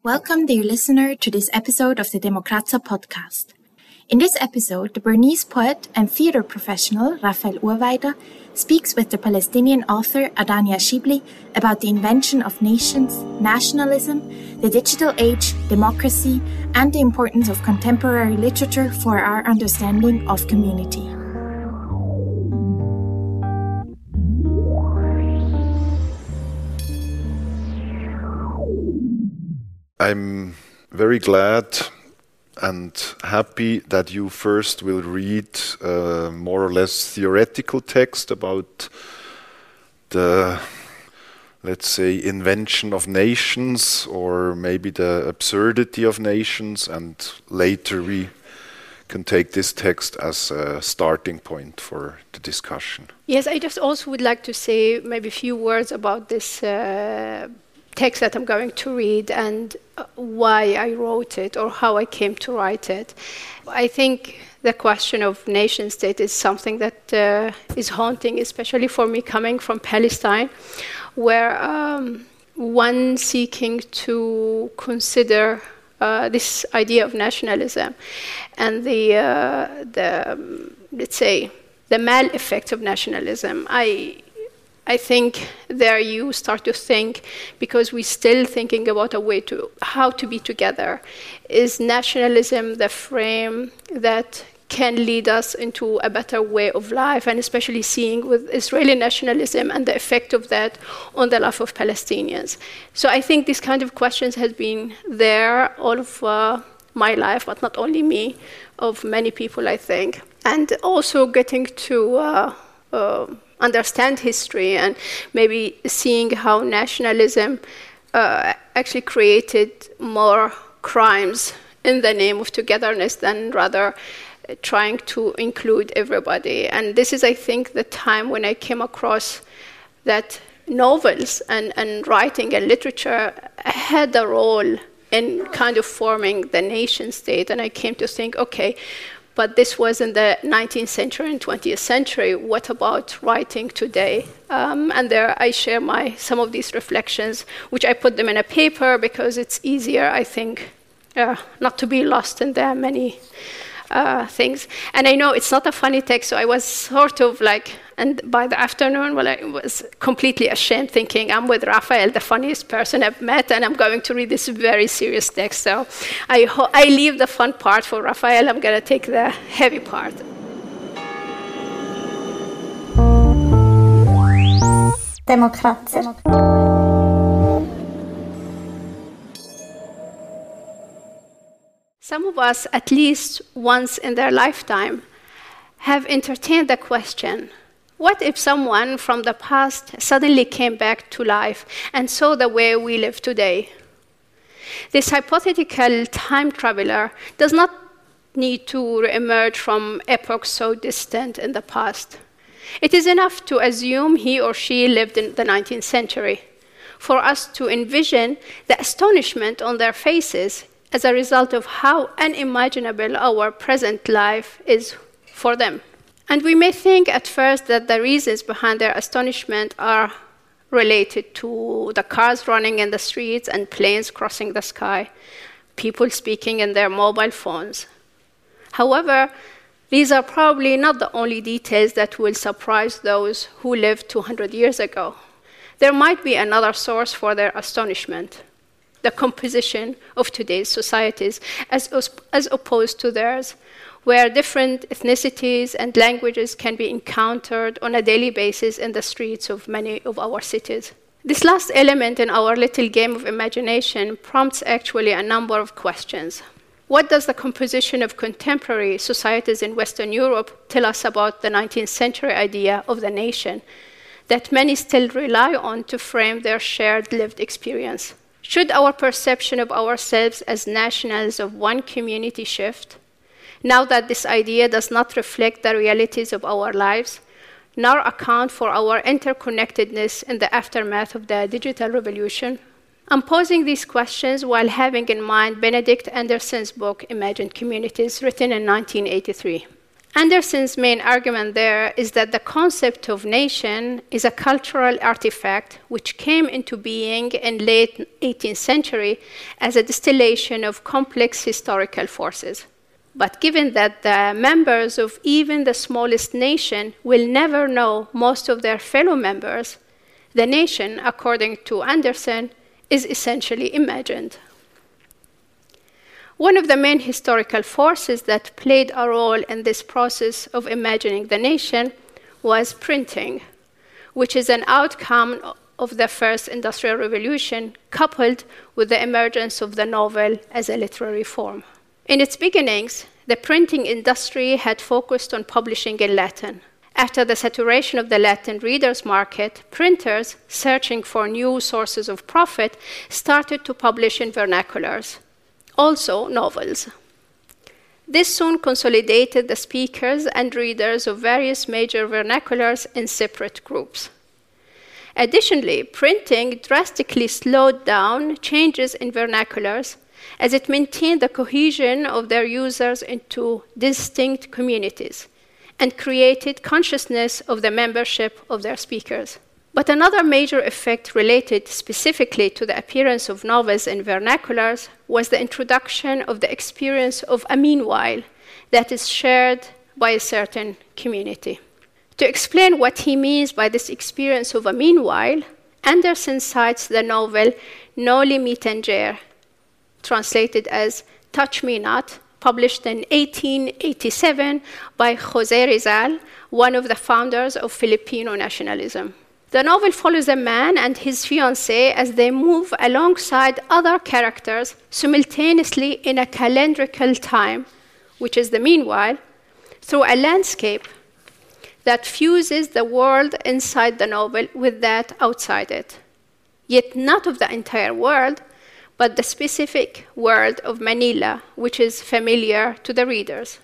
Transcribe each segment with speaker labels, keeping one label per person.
Speaker 1: Welcome, dear listener, to this episode of the Demokratza podcast. In this episode, the Bernese poet and theatre professional Raphael Urweider speaks with the Palestinian author Adania Shibli about the invention of nations, nationalism, the digital age, democracy, and the importance of contemporary literature for our understanding of community.
Speaker 2: I'm very glad and happy that you first will read a more or less theoretical text about the, let's say, invention of nations, or maybe the absurdity of nations, and later we can take this text as a starting point for the discussion.
Speaker 3: Yes, I just also would like to say maybe a few words about this text that I'm going to read and why I wrote it or how I came to write it. I think the question of nation state is something that is haunting, especially for me coming from Palestine, where one seeking to consider this idea of nationalism and the let's say, the mal effects of nationalism. I think there you start to think, because we're still thinking about a way to how to be together. Is nationalism the frame that can lead us into a better way of life, and especially seeing with Israeli nationalism and the effect of that on the life of Palestinians? So I think this kind of questions has been there all of my life, but not only me, of many people, I think. And also getting to understand history and maybe seeing how nationalism actually created more crimes in the name of togetherness than rather trying to include everybody. And this is, I think, the time when I came across that novels and writing and literature had a role in kind of forming the nation state. And I came to think, okay, but this was in the 19th century and 20th century. What about writing today? And there I share some of these reflections, which I put them in a paper because it's easier, I think, not to be lost in the many things. And I know it's not a funny text, so I was sort of like, and by the afternoon, I was completely ashamed, thinking I'm with Raphael, the funniest person I've met, and I'm going to read this very serious text. So I leave the fun part for Raphael. I'm going to take the heavy part.
Speaker 4: Demokratza.
Speaker 3: Some of us, at least once in their lifetime, have entertained the question, what if someone from the past suddenly came back to life and saw the way we live today? This hypothetical time traveler does not need to emerge from epochs so distant in the past. It is enough to assume he or she lived in the 19th century for us to envision the astonishment on their faces as a result of how unimaginable our present life is for them. And we may think at first that the reasons behind their astonishment are related to the cars running in the streets and planes crossing the sky, people speaking in their mobile phones. However, these are probably not the only details that will surprise those who lived 200 years ago. There might be another source for their astonishment: the composition of today's societies as opposed to theirs, where different ethnicities and languages can be encountered on a daily basis in the streets of many of our cities. This last element in our little game of imagination prompts actually a number of questions. What does the composition of contemporary societies in Western Europe tell us about the 19th century idea of the nation that many still rely on to frame their shared lived experience? Should our perception of ourselves as nationals of one community shift, now that this idea does not reflect the realities of our lives, nor account for our interconnectedness in the aftermath of the digital revolution? I'm posing these questions while having in mind Benedict Anderson's book, Imagined Communities, written in 1983. Anderson's main argument there is that the concept of nation is a cultural artifact which came into being in late 18th century as a distillation of complex historical forces. But given that the members of even the smallest nation will never know most of their fellow members, the nation, according to Anderson, is essentially imagined. One of the main historical forces that played a role in this process of imagining the nation was printing, which is an outcome of the first industrial revolution, coupled with the emergence of the novel as a literary form. In its beginnings, the printing industry had focused on publishing in Latin. After the saturation of the Latin readers' market, printers, searching for new sources of profit, started to publish in vernaculars, also novels. This soon consolidated the speakers and readers of various major vernaculars in separate groups. Additionally, printing drastically slowed down changes in vernaculars as it maintained the cohesion of their users into distinct communities and created consciousness of the membership of their speakers. But another major effect related specifically to the appearance of novels in vernaculars was the introduction of the experience of a meanwhile that is shared by a certain community. To explain what he means by this experience of a meanwhile, Anderson cites the novel Noli Me Tangere, translated as Touch Me Not, published in 1887 by José Rizal, one of the founders of Filipino nationalism. The novel follows a man and his fiancée as they move alongside other characters simultaneously in a calendrical time, which is the meanwhile, through a landscape that fuses the world inside the novel with that outside it. Yet not of the entire world, but the specific world of Manila, which is familiar to the readers.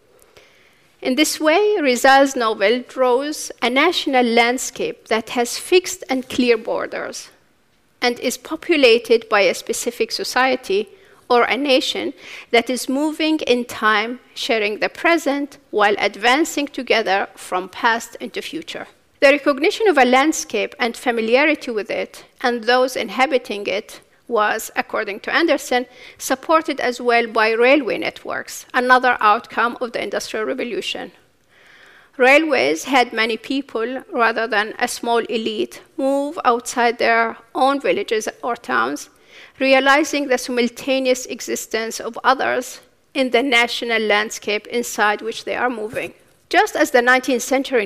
Speaker 3: In this way, Rizal's novel draws a national landscape that has fixed and clear borders and is populated by a specific society or a nation that is moving in time, sharing the present while advancing together from past into future. The recognition of a landscape and familiarity with it and those inhabiting it was, according to Anderson, supported as well by railway networks, another outcome of the Industrial Revolution. Railways had many people, rather than a small elite, move outside their own villages or towns, realizing the simultaneous existence of others in the national landscape inside which they are moving. Just as the 19th century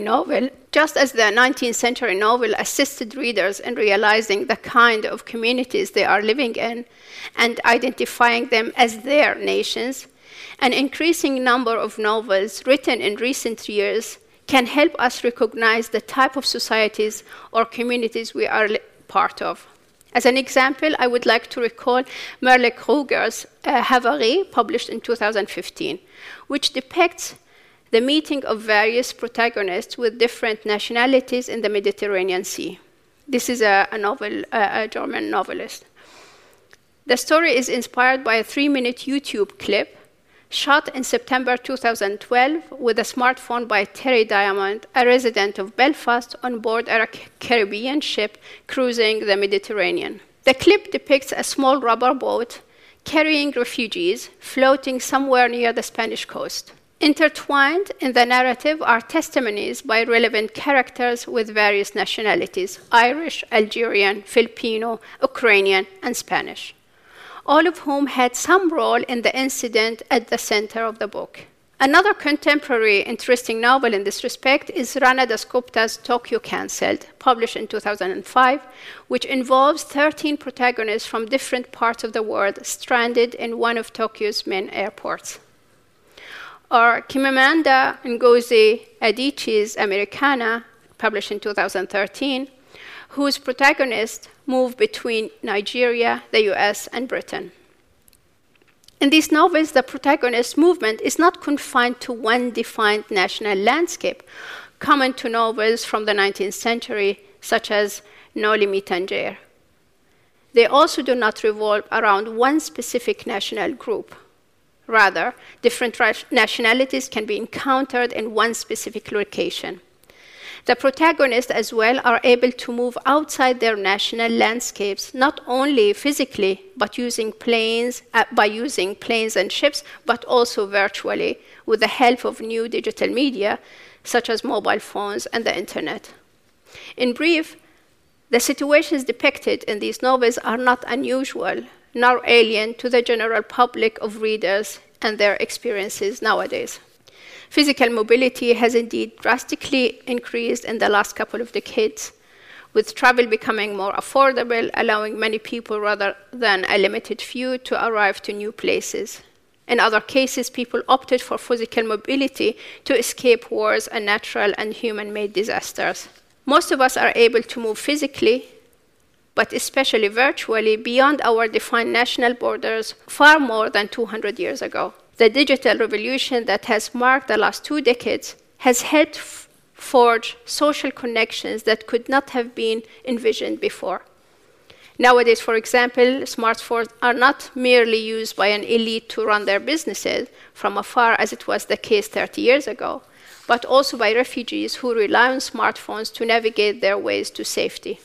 Speaker 3: novel assisted readers in realizing the kind of communities they are living in and identifying them as their nations, an increasing number of novels written in recent years can help us recognize the type of societies or communities we are part of. As an example, I would like to recall Merle Kruger's Havare, published in 2015, which depicts the meeting of various protagonists with different nationalities in the Mediterranean Sea. This is a German novelist. The story is inspired by a 3-minute YouTube clip shot in September 2012 with a smartphone by Terry Diamond, a resident of Belfast, on board a Caribbean ship cruising the Mediterranean. The clip depicts a small rubber boat carrying refugees floating somewhere near the Spanish coast. Intertwined in the narrative are testimonies by relevant characters with various nationalities: Irish, Algerian, Filipino, Ukrainian, and Spanish, all of whom had some role in the incident at the center of the book. Another contemporary interesting novel in this respect is Rana Dasgupta's Tokyo Cancelled, published in 2005, which involves 13 protagonists from different parts of the world stranded in one of Tokyo's main airports. Or Chimamanda Ngozi Adichie's Americana, published in 2013, whose protagonists move between Nigeria, the US, and Britain. In these novels, the protagonist's movement is not confined to one defined national landscape, common to novels from the 19th century, such as Noli Me Tangere. They also do not revolve around one specific national group. Rather, different nationalities can be encountered in one specific location. The protagonists as well are able to move outside their national landscapes, not only physically, but by using planes and ships, but also virtually, with the help of new digital media, such as mobile phones and the internet. In brief, the situations depicted in these novels are not unusual, nor alien to the general public of readers and their experiences nowadays. Physical mobility has indeed drastically increased in the last couple of decades, with travel becoming more affordable, allowing many people rather than a limited few to arrive to new places. In other cases, people opted for physical mobility to escape wars and natural and human-made disasters. Most of us are able to move physically, but especially virtually, beyond our defined national borders far more than 200 years ago. The digital revolution that has marked the last 2 decades has helped forge social connections that could not have been envisioned before. Nowadays, for example, smartphones are not merely used by an elite to run their businesses from afar, as it was the case 30 years ago, but also by refugees who rely on smartphones to navigate their ways to safety.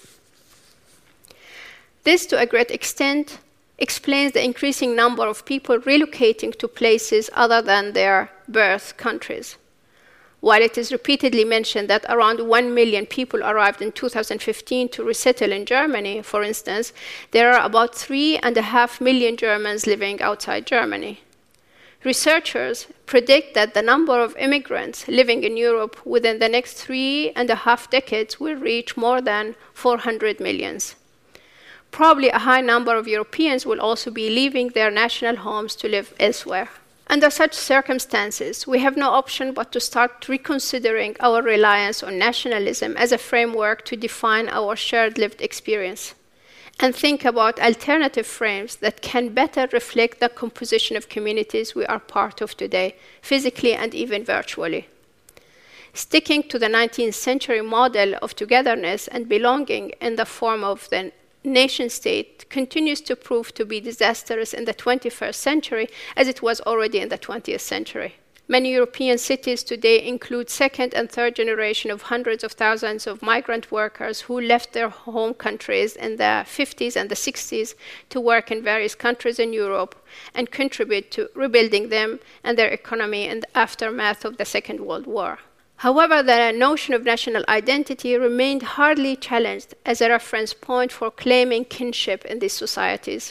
Speaker 3: This, to a great extent, explains the increasing number of people relocating to places other than their birth countries. While it is repeatedly mentioned that around 1 million people arrived in 2015 to resettle in Germany, for instance, there are about 3.5 million Germans living outside Germany. Researchers predict that the number of immigrants living in Europe within the next 3.5 decades will reach more than 400 million. Probably a high number of Europeans will also be leaving their national homes to live elsewhere. Under such circumstances, we have no option but to start reconsidering our reliance on nationalism as a framework to define our shared lived experience, and think about alternative frames that can better reflect the composition of communities we are part of today, physically and even virtually. Sticking to the 19th century model of togetherness and belonging in the form of the nation-state continues to prove to be disastrous in the 21st century, as it was already in the 20th century. Many European cities today include second and third generation of hundreds of thousands of migrant workers who left their home countries in the 50s and the 60s to work in various countries in Europe and contribute to rebuilding them and their economy in the aftermath of the Second World War. However, the notion of national identity remained hardly challenged as a reference point for claiming kinship in these societies.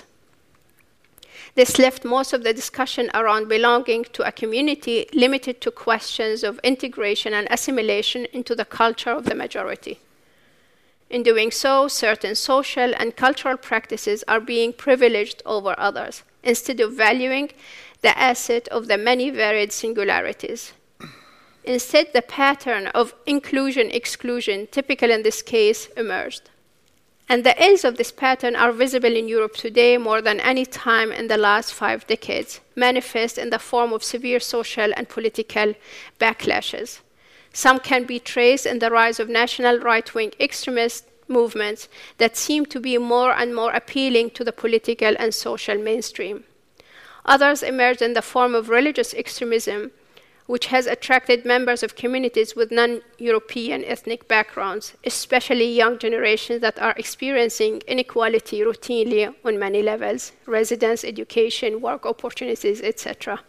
Speaker 3: This left most of the discussion around belonging to a community limited to questions of integration and assimilation into the culture of the majority. In doing so, certain social and cultural practices are being privileged over others, instead of valuing the asset of the many varied singularities. Instead, the pattern of inclusion-exclusion, typical in this case, emerged. And the ills of this pattern are visible in Europe today more than any time in the last 5 decades, manifest in the form of severe social and political backlashes. Some can be traced in the rise of national right-wing extremist movements that seem to be more and more appealing to the political and social mainstream. Others emerge in the form of religious extremism, which has attracted members of communities with non-European ethnic backgrounds, especially young generations that are experiencing inequality routinely on many levels: residence, education, work opportunities, etc.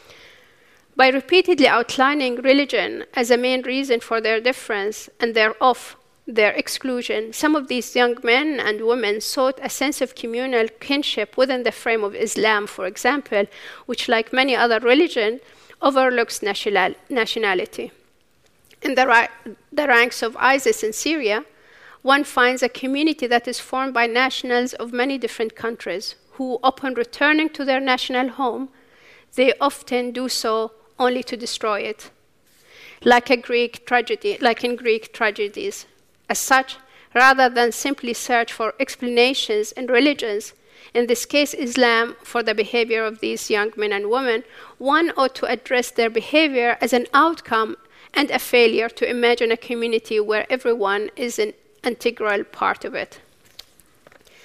Speaker 3: By repeatedly outlining religion as a main reason for their difference and their exclusion, some of these young men and women sought a sense of communal kinship within the frame of Islam, for example, which, like many other religions, overlooks nationality. In the ranks of ISIS in Syria, one finds a community that is formed by nationals of many different countries who, upon returning to their national home, they often do so only to destroy it, like in Greek tragedies. As such, rather than simply search for explanations in religions, in this case Islam, for the behavior of these young men and women, one ought to address their behavior as an outcome and a failure to imagine a community where everyone is an integral part of it.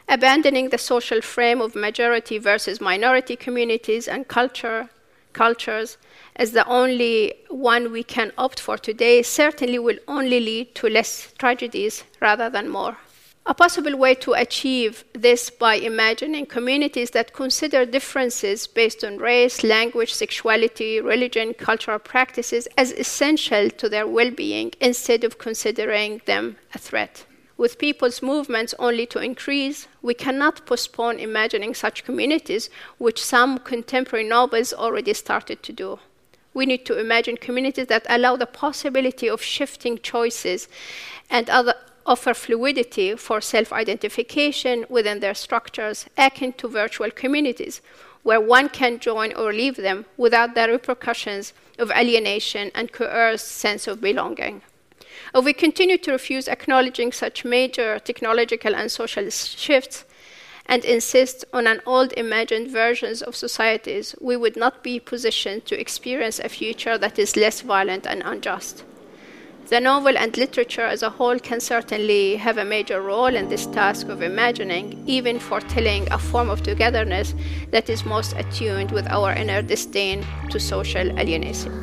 Speaker 3: abandoning the social frame of majority versus minority communities and cultures as the only one we can opt for today certainly will only lead to less tragedies rather than more. A possible way to achieve this by imagining communities that consider differences based on race, language, sexuality, religion, cultural practices as essential to their well-being instead of considering them a threat. With people's movements only to increase, we cannot postpone imagining such communities, which some contemporary novels already started to do. We need to imagine communities that allow the possibility of shifting choices and offer fluidity for self-identification within their structures, akin to virtual communities, where one can join or leave them without the repercussions of alienation and coerced sense of belonging. If we continue to refuse acknowledging such major technological and social shifts and insist on an old imagined versions of societies, we would not be positioned to experience a future that is less violent and unjust. The novel and literature as a whole can certainly have a major role in this task of imagining, even foretelling a form of togetherness that is most attuned with our inner disdain to social alienation.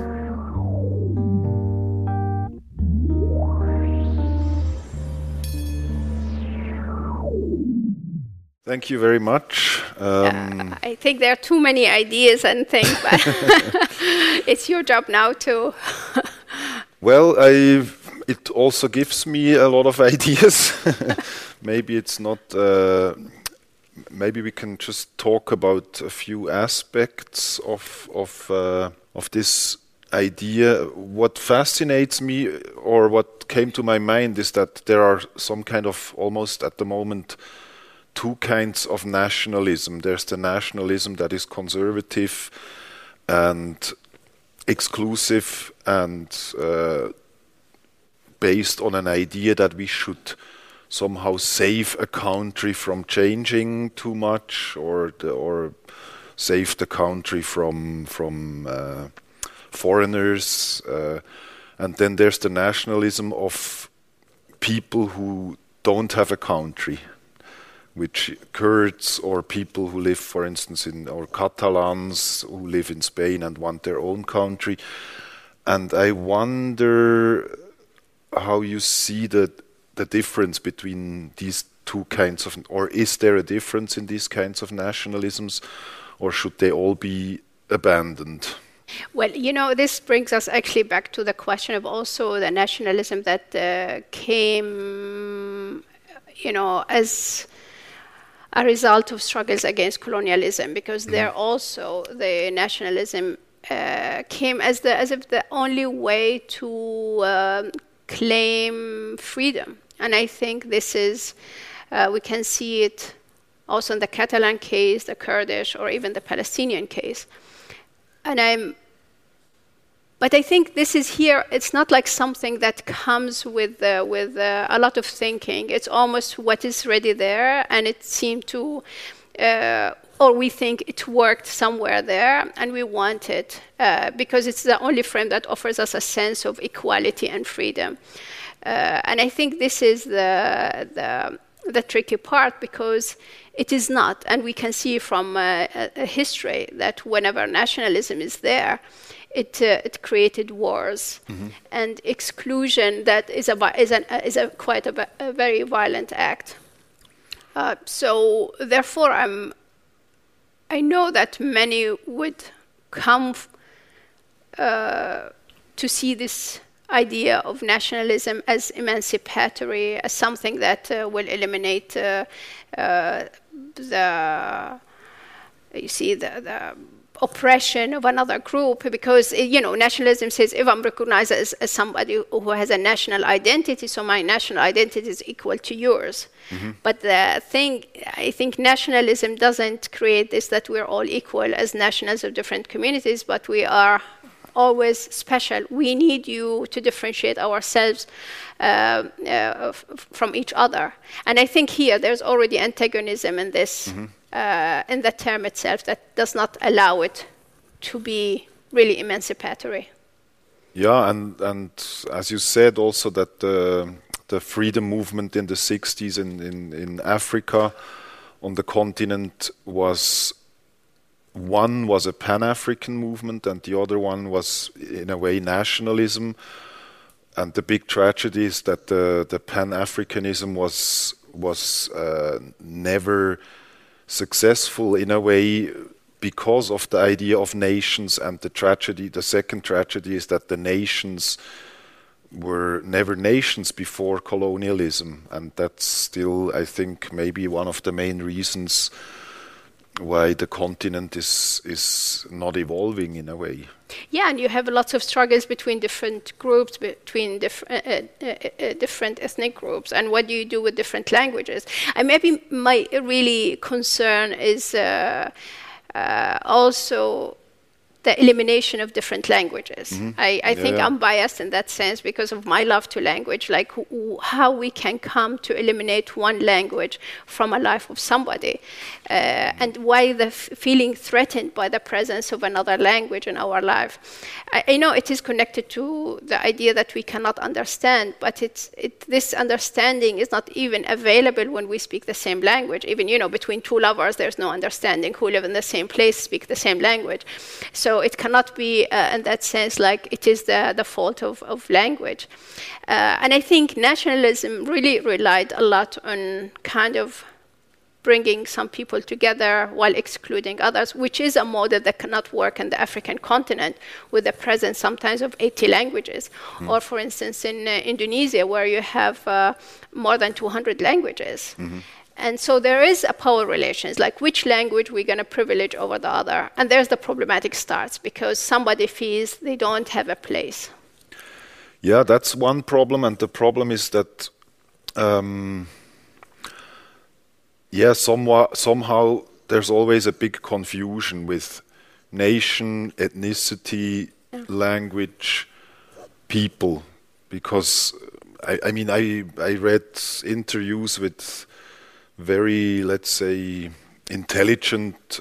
Speaker 2: Thank you very much.
Speaker 3: I think there are too many ideas and things, but it's your job now to...
Speaker 2: Well, it also gives me a lot of ideas. Maybe it's not... maybe we can just talk about a few aspects of this idea. What fascinates me, or what came to my mind, is that there are some kind of, almost at the moment, two kinds of nationalism. There's the nationalism that is conservative and exclusive and based on an idea that we should somehow save a country from changing too much, or save the country from foreigners. And then there's the nationalism of people who don't have a country, which Kurds or people who live, for instance, or Catalans who live in Spain and want their own country. And I wonder how you see the difference between these two kinds of, or is there a difference in these kinds of nationalisms, or should they all be abandoned?
Speaker 3: Well, this brings us actually back to the question of also the nationalism that came, as a result of struggles against colonialism, because there also the nationalism came as if the only way to claim freedom. And I think this is, we can see it also in the Catalan case, the Kurdish, or even the Palestinian case. But I think this is here, it's not like something that comes with a lot of thinking. It's almost what is already there, and it seemed to, or we think it worked somewhere there, and we want it because it's the only frame that offers us a sense of equality and freedom. And I think this is the tricky part, because it is not, and we can see from history that whenever nationalism is there, it created wars and exclusion that is quite a very violent act. So therefore, I know that many would come to see this idea of nationalism as emancipatory, as something that will eliminate the oppression of another group, because nationalism says, if I'm recognized as somebody who has a national identity, so my national identity is equal to yours. But the thing, I think nationalism doesn't create this, that we're all equal as nationals of different communities, but we are always special. We need you to differentiate ourselves from each other. And I think here there's already antagonism in this, in the term itself, that does not allow it to be really emancipatory.
Speaker 2: Yeah, and as you said also that the freedom movement in the 60s in Africa on the continent was a Pan-African movement, and the other one was, in a way, nationalism. And the big tragedy is that the Pan-Africanism was never successful, in a way, because of the idea of nations. And the second tragedy is that the nations were never nations before colonialism, and that's still, I think, maybe one of the main reasons why the continent is not evolving in a way.
Speaker 3: Yeah, and you have lots of struggles between different groups, between different ethnic groups, and what do you do with different languages? And maybe my really concern is also the elimination of different languages. I think I'm biased in that sense because of my love to language, like how we can come to eliminate one language from a life of somebody, and why the feeling threatened by the presence of another language in our life. I know it is connected to the idea that we cannot understand, but this understanding is not even available when we speak the same language. Even, between two lovers, there's no understanding who live in the same place, speak the same language. So it cannot be, in that sense, like it is the fault of language. And I think nationalism really relied a lot on kind of bringing some people together while excluding others, which is a model that cannot work in the African continent with the presence sometimes of 80 languages. Or, for instance, in Indonesia, where you have more than 200 languages. And so there is a power relations, like which language we're going to privilege over the other. And there's the problematic starts, because somebody feels they don't have a place.
Speaker 2: Yeah, that's one problem. And the problem is that, somehow there's always a big confusion with nation, ethnicity, language, people. Because, I read interviews with very, let's say, intelligent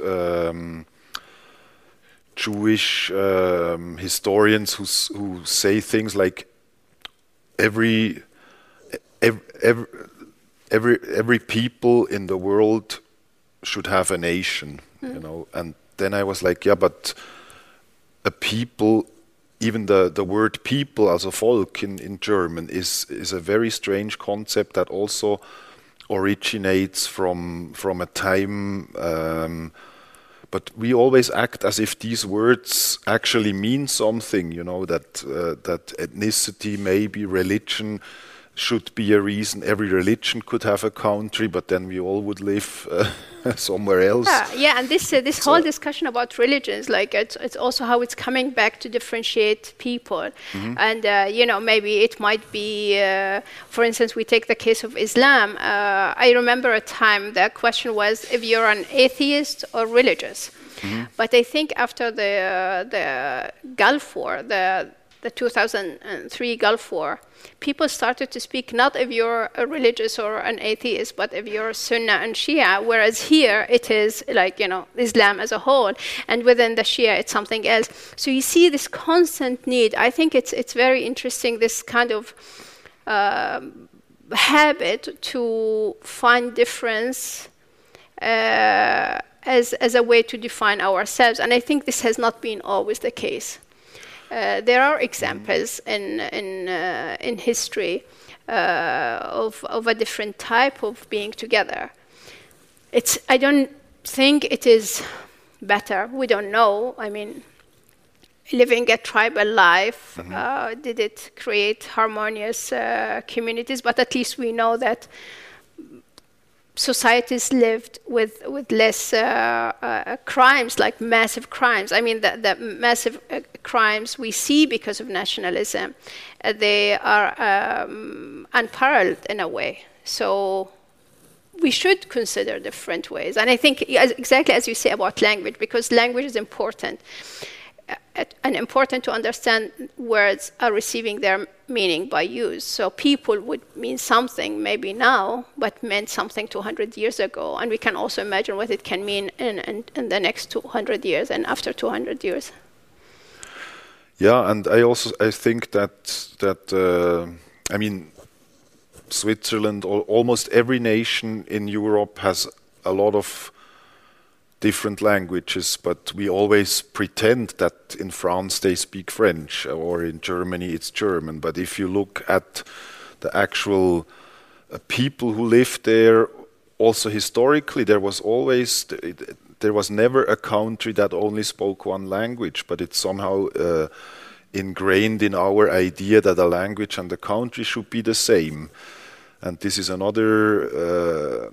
Speaker 2: Jewish historians who say things like every people in the world should have a nation, And then I was like, yeah, but a people, even the word people, also Volk in German, is a very strange concept that also originates from a time, but we always act as if these words actually mean something, that ethnicity, maybe religion should be a reason. Every religion could have a country, but then we all would live somewhere else.
Speaker 3: Yeah, and this whole discussion about religions, like it's also how it's coming back to differentiate people. And maybe it might be, for instance, we take the case of Islam. I remember a time the question was if you're an atheist or religious. But I think after the Gulf War, the 2003 Gulf War, people started to speak not if you're a religious or an atheist, but if you're Sunnah and Shia, whereas here it is like, Islam as a whole, and within the Shia it's something else. So you see this constant need. I think it's very interesting, this kind of habit to find difference as a way to define ourselves. And I think this has not been always the case. There are examples in history of a different type of being together. I don't think it is better. We don't know. Living a tribal life, did it create harmonious communities? But at least we know that societies lived with less crimes, like massive crimes. The massive crimes we see because of nationalism, they are unparalleled in a way. So we should consider different ways. And I think exactly as you say about language, because language is important. And important to understand words are receiving their meaning by use. So people would mean something maybe now, but meant something 200 years ago. And we can also imagine what it can mean in the next 200 years and after 200 years.
Speaker 2: Yeah, and I think that Switzerland or almost every nation in Europe has a lot of different languages, but we always pretend that in France they speak French or in Germany it's German. But if you look at the actual people who lived there, also historically, there was never a country that only spoke one language, but it's somehow ingrained in our idea that a language and a country should be the same. And this is another,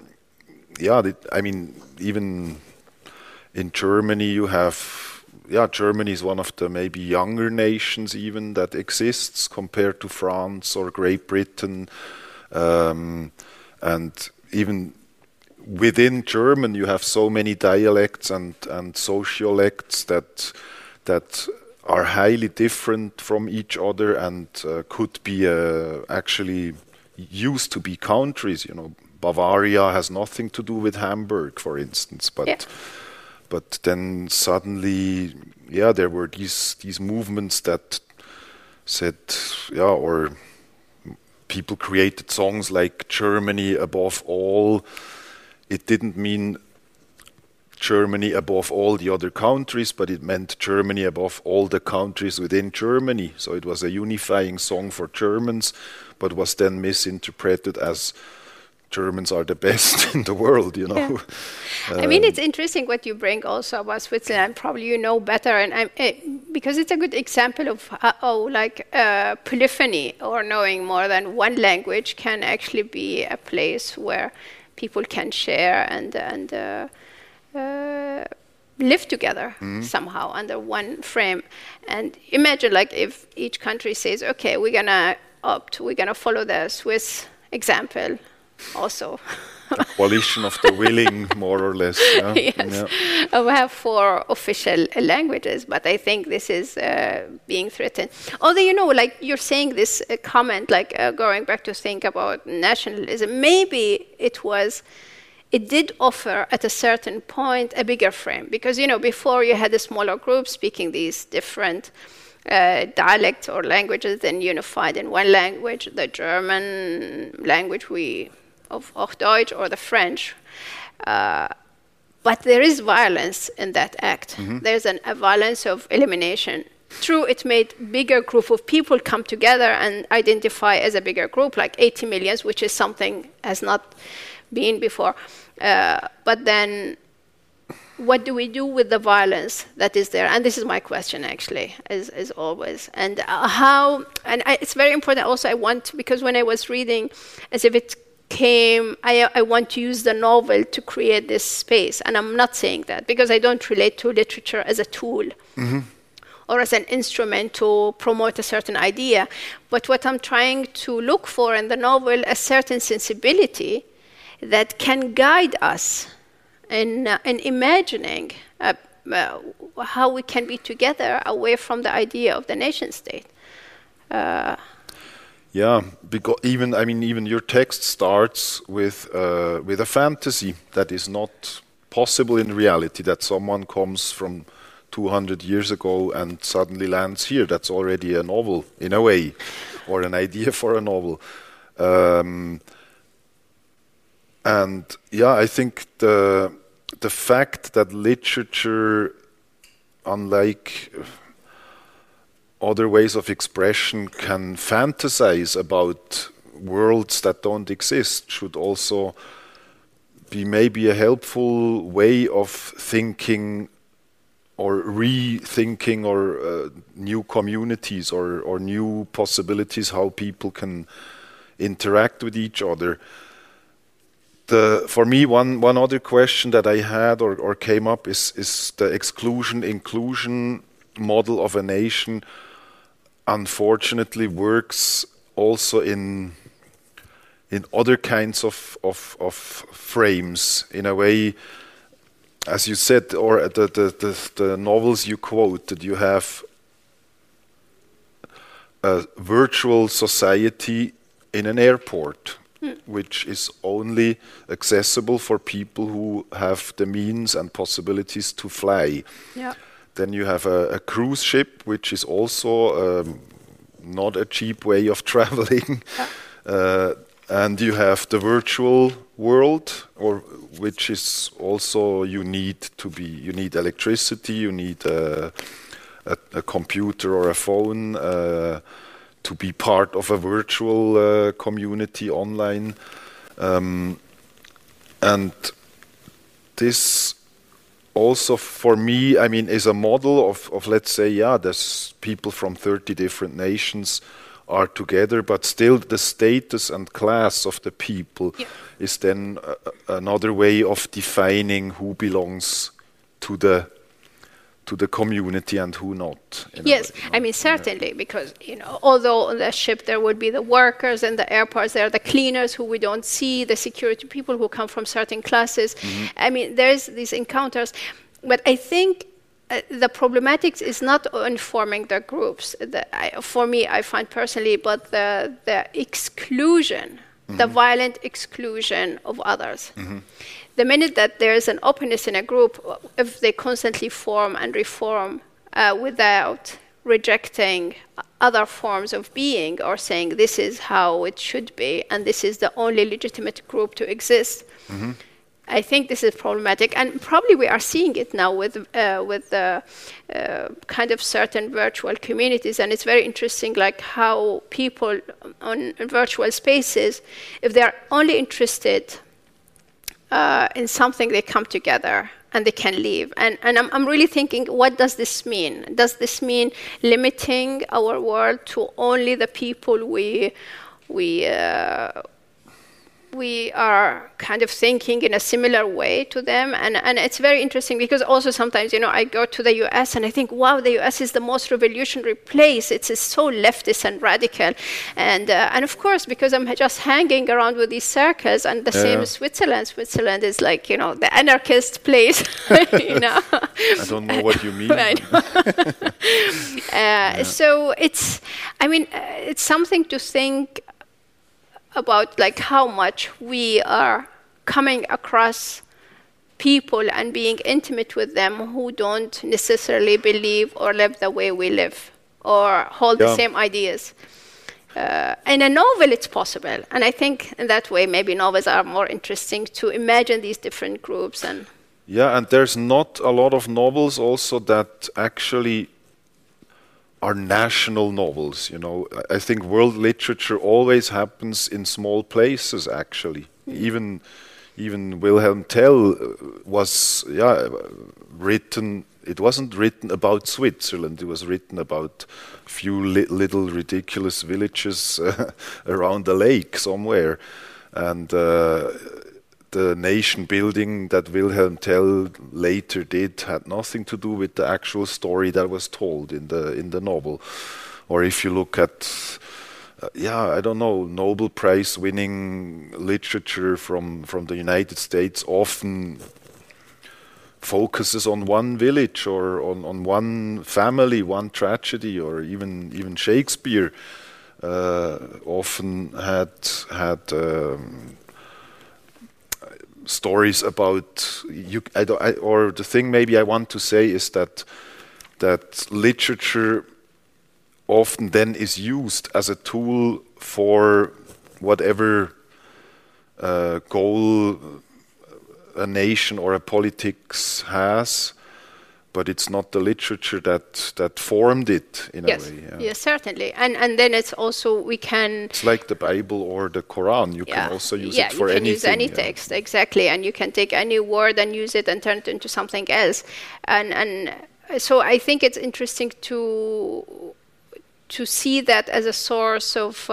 Speaker 2: even in Germany you have, Germany is one of the maybe younger nations even that exists compared to France or Great Britain. And even within German you have so many dialects and sociolects that are highly different from each other and could be actually used to be countries. Bavaria has nothing to do with Hamburg, for instance, but then suddenly, there were these movements that said, or people created songs like Germany above all. It didn't mean Germany above all the other countries, but it meant Germany above all the countries within Germany. So it was a unifying song for Germans, but was then misinterpreted as Germans are the best in the world,
Speaker 3: Yeah. It's interesting what you bring also about Switzerland. Probably you know better, and because it's a good example of how polyphony or knowing more than one language can actually be a place where people can share and live together somehow under one frame. And imagine if each country says, okay, we're gonna follow the Swiss example also.
Speaker 2: A coalition of the willing, more or less. Yeah.
Speaker 3: Yes. Yeah. We have 4 official languages, but I think this is being threatened. Although, you're saying this comment, going back to think about nationalism, maybe it did offer at a certain point a bigger frame. Because, before you had a smaller group speaking these different dialects or languages, then unified in one language, the German language of Hochdeutsch or the French. But there is violence in that act. Mm-hmm. There's a violence of elimination. True, it made bigger group of people come together and identify as a bigger group, like 80 million, which is something has not been before. But then what do we do with the violence that is there? And this is my question, actually, as always. And it's very important also, because when I was reading, as if it came, I want to use the novel to create this space. And I'm not saying that, because I don't relate to literature as a tool or as an instrument to promote a certain idea. But what I'm trying to look for in the novel, a certain sensibility that can guide us in imagining how we can be together away from the idea of the nation state.
Speaker 2: Because even your text starts with a fantasy that is not possible in reality, that someone comes from 200 years ago and suddenly lands here. That's already a novel, in a way, or an idea for a novel. I think the fact that literature, unlike other ways of expression, can fantasize about worlds that don't exist, should also be maybe a helpful way of thinking or rethinking or new communities or new possibilities, how people can interact with each other. For me, one other question that I had or came up is the exclusion-inclusion model of a nation. Unfortunately, works also in other kinds of frames. In a way, as you said, or the novels you quoted, you have a virtual society in an airport, which is only accessible for people who have the means and possibilities to fly.
Speaker 3: Yeah.
Speaker 2: Then you have a cruise ship, which is also not a cheap way of traveling. And you have the virtual world, which is also you need electricity, you need a computer or a phone to be part of a virtual community online. And this also for me, I mean, is a model of let's say, there's people from 30 different nations are together, but still the status and class of the people is then another way of defining who belongs to the community and who not.
Speaker 3: Yes, I mean, certainly, because, although on the ship there would be the workers and the airports, there are the cleaners who we don't see, the security people who come from certain classes. I mean, there's these encounters. But I think the problematics is not in forming the groups. For me, I find personally, but the exclusion, the violent exclusion of others. The minute that there's an openness in a group, if they constantly form and reform without rejecting other forms of being or saying this is how it should be and this is the only legitimate group to exist, I think this is problematic, and probably we are seeing it now with the kind of certain virtual communities, and it's very interesting, like how people on virtual spaces, if they are only interested in something, they come together and they can leave. And I'm really thinking, what does this mean? Does this mean limiting our world to only the people we are kind of thinking in a similar way to them? And it's very interesting because also sometimes, I go to the US and I think, wow, the US is the most revolutionary place. It's so leftist and radical. And of course, because I'm just hanging around with these circles, and the same as Switzerland. Switzerland is like, the anarchist place,
Speaker 2: I don't know what you mean.
Speaker 3: So it's something to think about, like how much we are coming across people and being intimate with them who don't necessarily believe or live the way we live or hold the same ideas. In a novel, it's possible. And I think in that way, maybe novels are more interesting to imagine these different groups. And
Speaker 2: there's not a lot of novels also that actually are national novels. I think world literature always happens in small places, actually. Even Wilhelm Tell was written. It wasn't written about Switzerland. It was written about a few little ridiculous villages around the lake somewhere, and the nation building that Wilhelm Tell later did had nothing to do with the actual story that was told in the novel. Or if you look at, I don't know, Nobel Prize winning literature from the United States often focuses on one village or on one family, one tragedy, or even Shakespeare often had stories about or the thing maybe I want to say is that literature often then is used as a tool for whatever goal a nation or a politics has, but it's not the literature that formed it in a way.
Speaker 3: Yes, certainly. And then it's also, it's
Speaker 2: like the Bible or the Quran. You can also use it for anything.
Speaker 3: You can use any text, exactly. And you can take any word and use it and turn it into something else. And so I think it's interesting to see that as a source of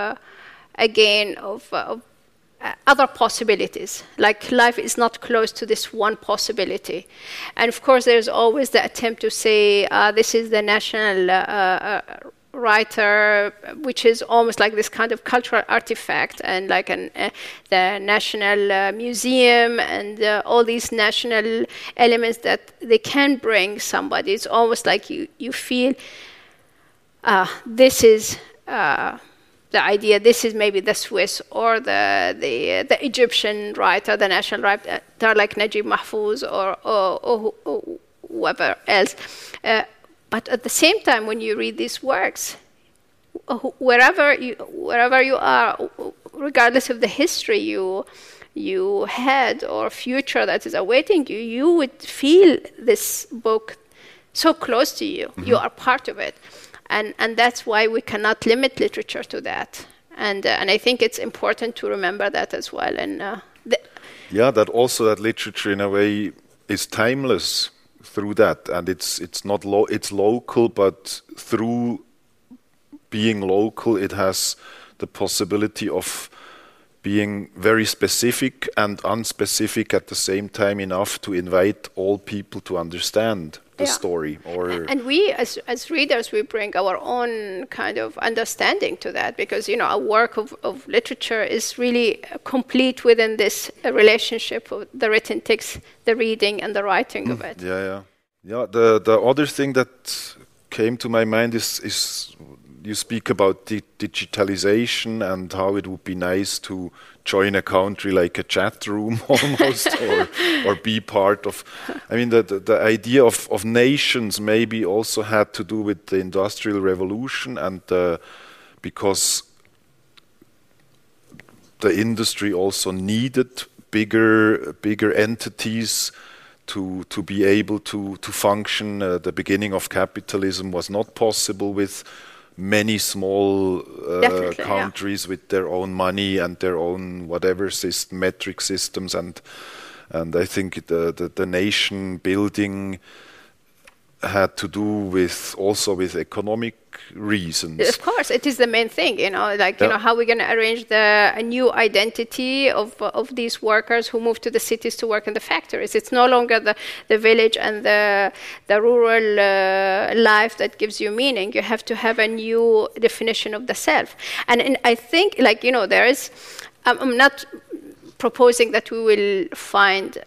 Speaker 3: other possibilities. Like life is not closed to this one possibility. And of course, there's always the attempt to say, this is the national writer, which is almost like this kind of cultural artifact, and like the national museum and all these national elements that they can bring somebody. It's almost like you feel this is the idea, this is maybe the Swiss or the Egyptian writer, the national writer, like Najib Mahfouz or whoever else. But at the same time, when you read these works, wherever you are, regardless of the history you had or future that is awaiting you, you would feel this book so close to you. Mm-hmm. You are part of it. And that's why we cannot limit literature to that. And I think it's important to remember that as well. And
Speaker 2: that also that literature in a way is timeless through that, and it's not it's local, but through being local, it has the possibility of being very specific and unspecific at the same time, enough to invite all people to understand the story.
Speaker 3: And we, as readers, we bring our own kind of understanding to that, because a work of literature is really complete within this relationship of the written text, the reading, and the writing of it.
Speaker 2: Yeah. The other thing that came to my mind is you speak about digitalization and how it would be nice to join a country like a chat room almost, or be part of. I mean, the idea of nations maybe also had to do with the Industrial Revolution, and because the industry also needed bigger entities to be able to function. The beginning of capitalism was not possible with many small countries with their own money and their own whatever metric systems, and I think the nation building had to do with economic reasons.
Speaker 3: Of course, it is the main thing, how we're going to arrange a new identity of these workers who move to the cities to work in the factories. It's no longer the village and the rural life that gives you meaning. You have to have a new definition of the self. And I think, there is, I'm not proposing that we will find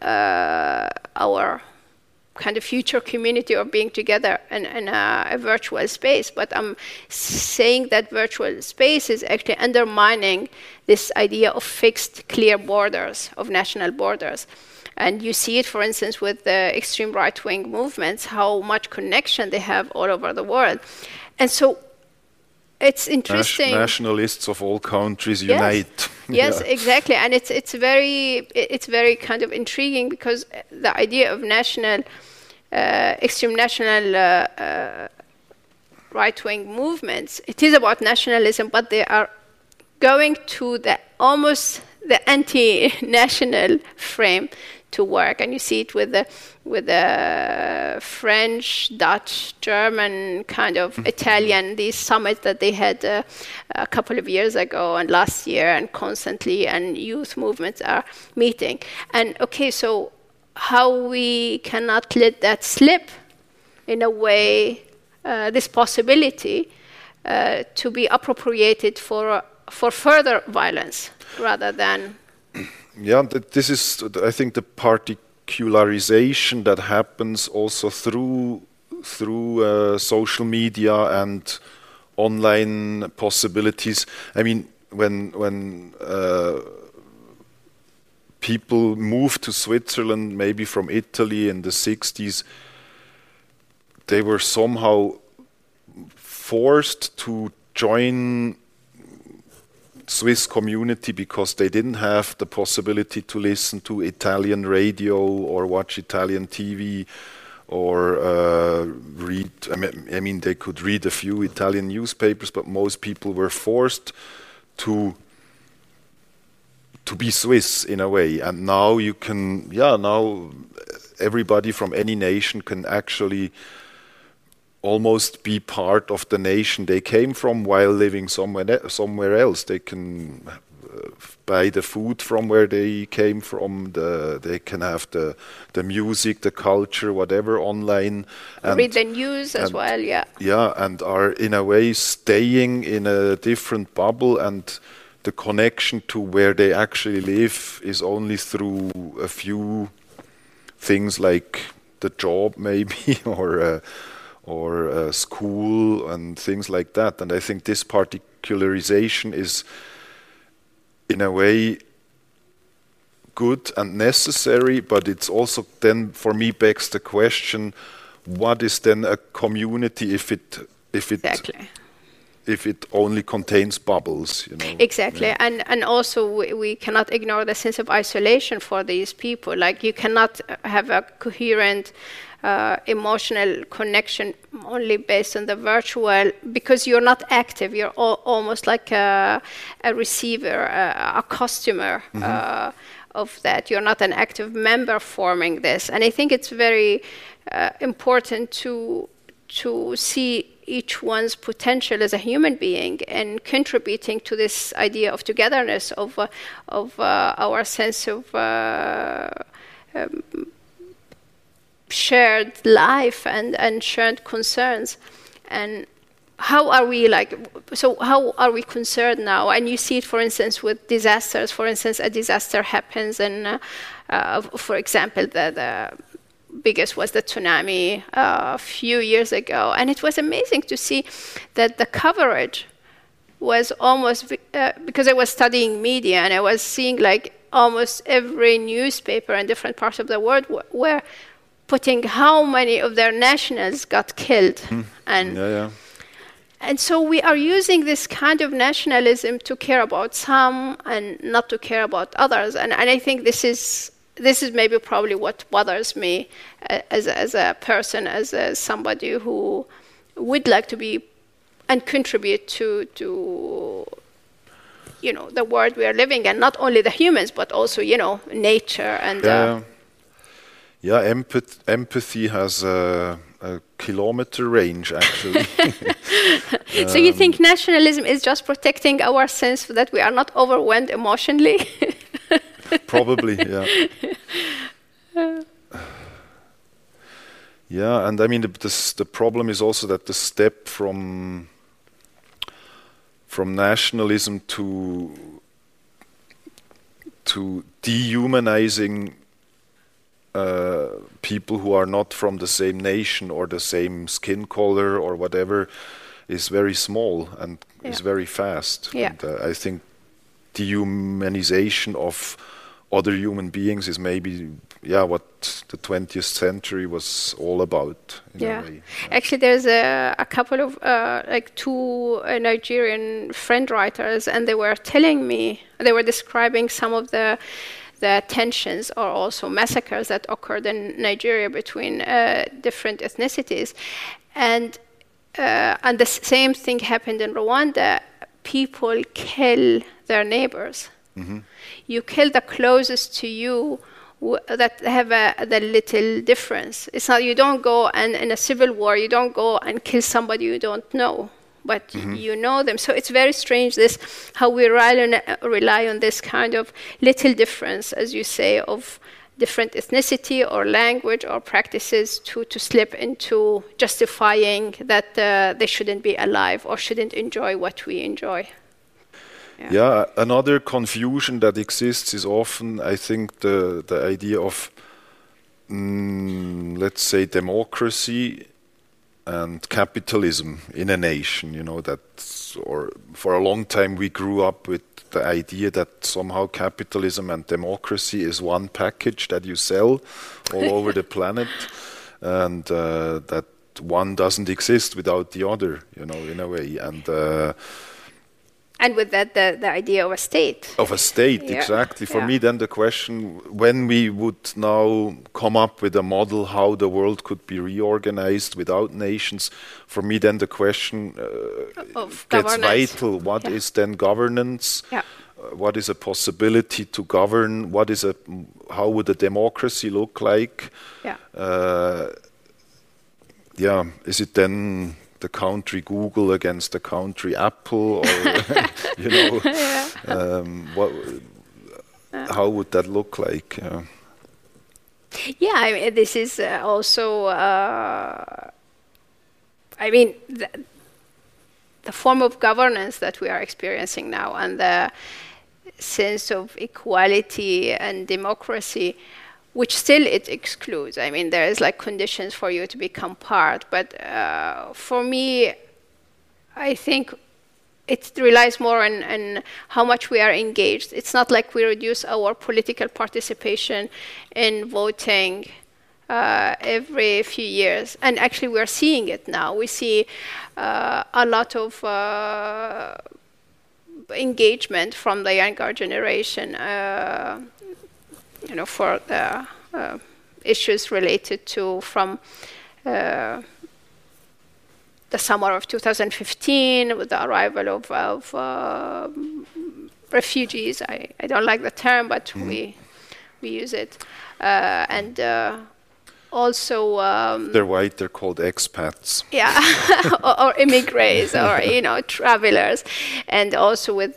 Speaker 3: our kind of future community or being together in a virtual space, but I'm saying that virtual space is actually undermining this idea of fixed, clear borders, of national borders. And you see it, for instance, with the extreme right-wing movements, how much connection they have all over the world. And so it's interesting.
Speaker 2: Nationalists of all countries unite.
Speaker 3: Yes, exactly. And it's very kind of intriguing, because the idea of extreme national right-wing movements, it is about nationalism, but they are going to almost the anti-national frame to work. And you see it with the French, Dutch, German, kind of Italian, these summits that they had a couple of years ago and last year, and constantly, and youth movements are meeting. And so how we cannot let that slip, in a way, this possibility to be appropriated for further violence rather than.
Speaker 2: Yeah, this is, I think, the particularization that happens also through social media and online possibilities. I mean, when people moved to Switzerland, maybe from Italy in the 60s, they were somehow forced to join Swiss community because they didn't have the possibility to listen to Italian radio or watch Italian TV or read. I mean, they could read a few Italian newspapers, but most people were forced to be Swiss in a way. And now you can, now everybody from any nation can actually almost be part of the nation they came from while living somewhere else. They can buy the food from where they came from. They can have the music, the culture, whatever online. And
Speaker 3: read the news as well, yeah.
Speaker 2: Yeah, and are in a way staying in a different bubble, and the connection to where they actually live is only through a few things like the job maybe, or school and things like that. And I think this particularization is, in a way, good and necessary, but it's also then, for me, begs the question, what is then a community if it
Speaker 3: Exactly.
Speaker 2: if it only contains bubbles, you know.
Speaker 3: Exactly,
Speaker 2: Yeah.
Speaker 3: and also we cannot ignore the sense of isolation for these people. Like you cannot have a coherent emotional connection only based on the virtual, because you're not active. You're almost like a receiver, a customer of that. You're not an active member forming this. And I think it's very important to see each one's potential as a human being and contributing to this idea of togetherness, of our sense of shared life and shared concerns. And how are we concerned now? And you see it, for instance, with disasters. For instance, a disaster happens, and for example, the biggest was the tsunami a few years ago, and it was amazing to see that the coverage was almost because I was studying media, and I was seeing like almost every newspaper in different parts of the world were putting how many of their nationals got killed. And so we are using this kind of nationalism to care about some and not to care about others. And I think this is maybe probably what bothers me as a person, as somebody who would like to be and contribute to the world we are living in, not only the humans, but also, nature. And
Speaker 2: empathy has a kilometer range, actually.
Speaker 3: So you think nationalism is just protecting our sense that we are not overwhelmed emotionally?
Speaker 2: Probably, yeah. Yeah, and I mean, the problem is also that the step from nationalism to dehumanizing people who are not from the same nation or the same skin color or whatever is very small and is very fast.
Speaker 3: Yeah.
Speaker 2: And, I think dehumanization of other human beings is maybe what the 20th century was all about in a way.
Speaker 3: Actually, there's a couple of two Nigerian friend writers, and they were telling me, they were describing some of the tensions or also massacres that occurred in Nigeria between different ethnicities, and the same thing happened in Rwanda. People kill their neighbors. Mm-hmm. You kill the closest to you that have the little difference. It's not, you don't go and in a civil war, you don't go and kill somebody you don't know, but you know them. So it's very strange how we rely on this kind of little difference, as you say, of different ethnicity or language or practices to slip into justifying that they shouldn't be alive or shouldn't enjoy what we enjoy.
Speaker 2: Yeah, another confusion that exists is often, I think, the idea of, let's say, democracy and capitalism in a nation. Or for a long time we grew up with the idea that somehow capitalism and democracy is one package that you sell all over the planet, and that one doesn't exist without the other, in a way.
Speaker 3: And with that, the idea of a state.
Speaker 2: Of a state, exactly. For me, then the question, when we would now come up with a model how the world could be reorganized without nations, for me then the question gets vital. What is then governance? Yeah. What is a possibility to govern? How would a democracy look like? Yeah. Is it then the country Google against the country Apple, or how would that look like?
Speaker 3: Yeah, I mean, this is also. The form of governance that we are experiencing now, and the sense of equality and democracy, which still it excludes. I mean, there is like conditions for you to become part, but for me, I think it relies more on how much we are engaged. It's not like we reduce our political participation in voting every few years. And actually, we're seeing it now. We see a lot of engagement from the younger generation, for the issues related to from the summer of 2015 with the arrival of refugees. I don't like the term, but we use it. And also...
Speaker 2: they're white, they're called expats.
Speaker 3: Yeah, or immigrants, or, travelers. And also with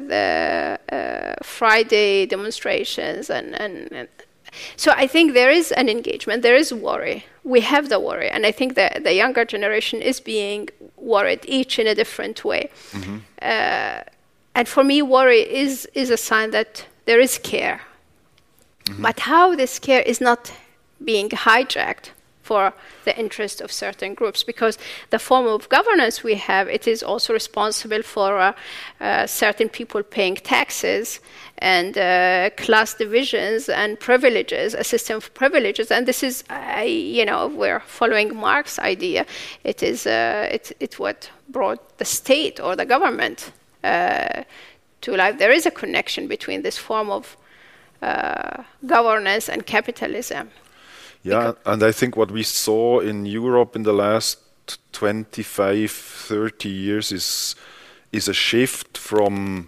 Speaker 3: Friday demonstrations and so I think there is an engagement, there is worry. We have the worry, and I think that the younger generation is being worried, each in a different way. Mm-hmm. And for me, worry is a sign that there is care. Mm-hmm. But how this care is not being hijacked for the interest of certain groups, because the form of governance we have, it is also responsible for certain people paying taxes and class divisions and privileges, a system of privileges. And this is, we're following Marx's idea. It is it's what brought the state or the government to life. There is a connection between this form of governance and capitalism.
Speaker 2: Yeah, and I think what we saw in Europe in the last 25, 30 years is a shift from,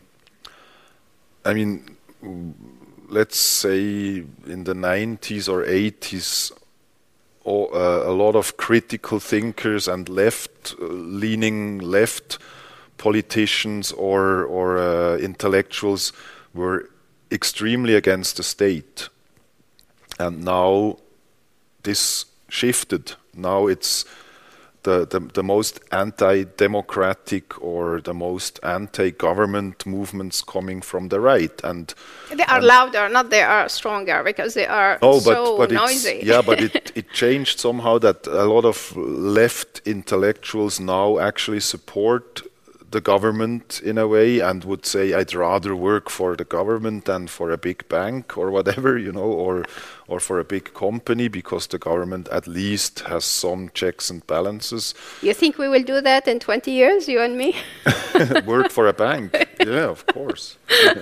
Speaker 2: let's say in the 90s or 80s, a lot of critical thinkers and left-leaning left politicians or intellectuals were extremely against the state. And now this shifted. Now it's the most anti-democratic or the most anti-government movements coming from the right, and
Speaker 3: they are louder, not they are stronger, because they are so noisy.
Speaker 2: But it changed somehow that a lot of left intellectuals now actually support the government in a way and would say, I'd rather work for the government than for a big bank or whatever, or for a big company, because the government at least has some checks and balances.
Speaker 3: You think we will do that in 20 years, you and me?
Speaker 2: Work for a bank? Yeah, of course.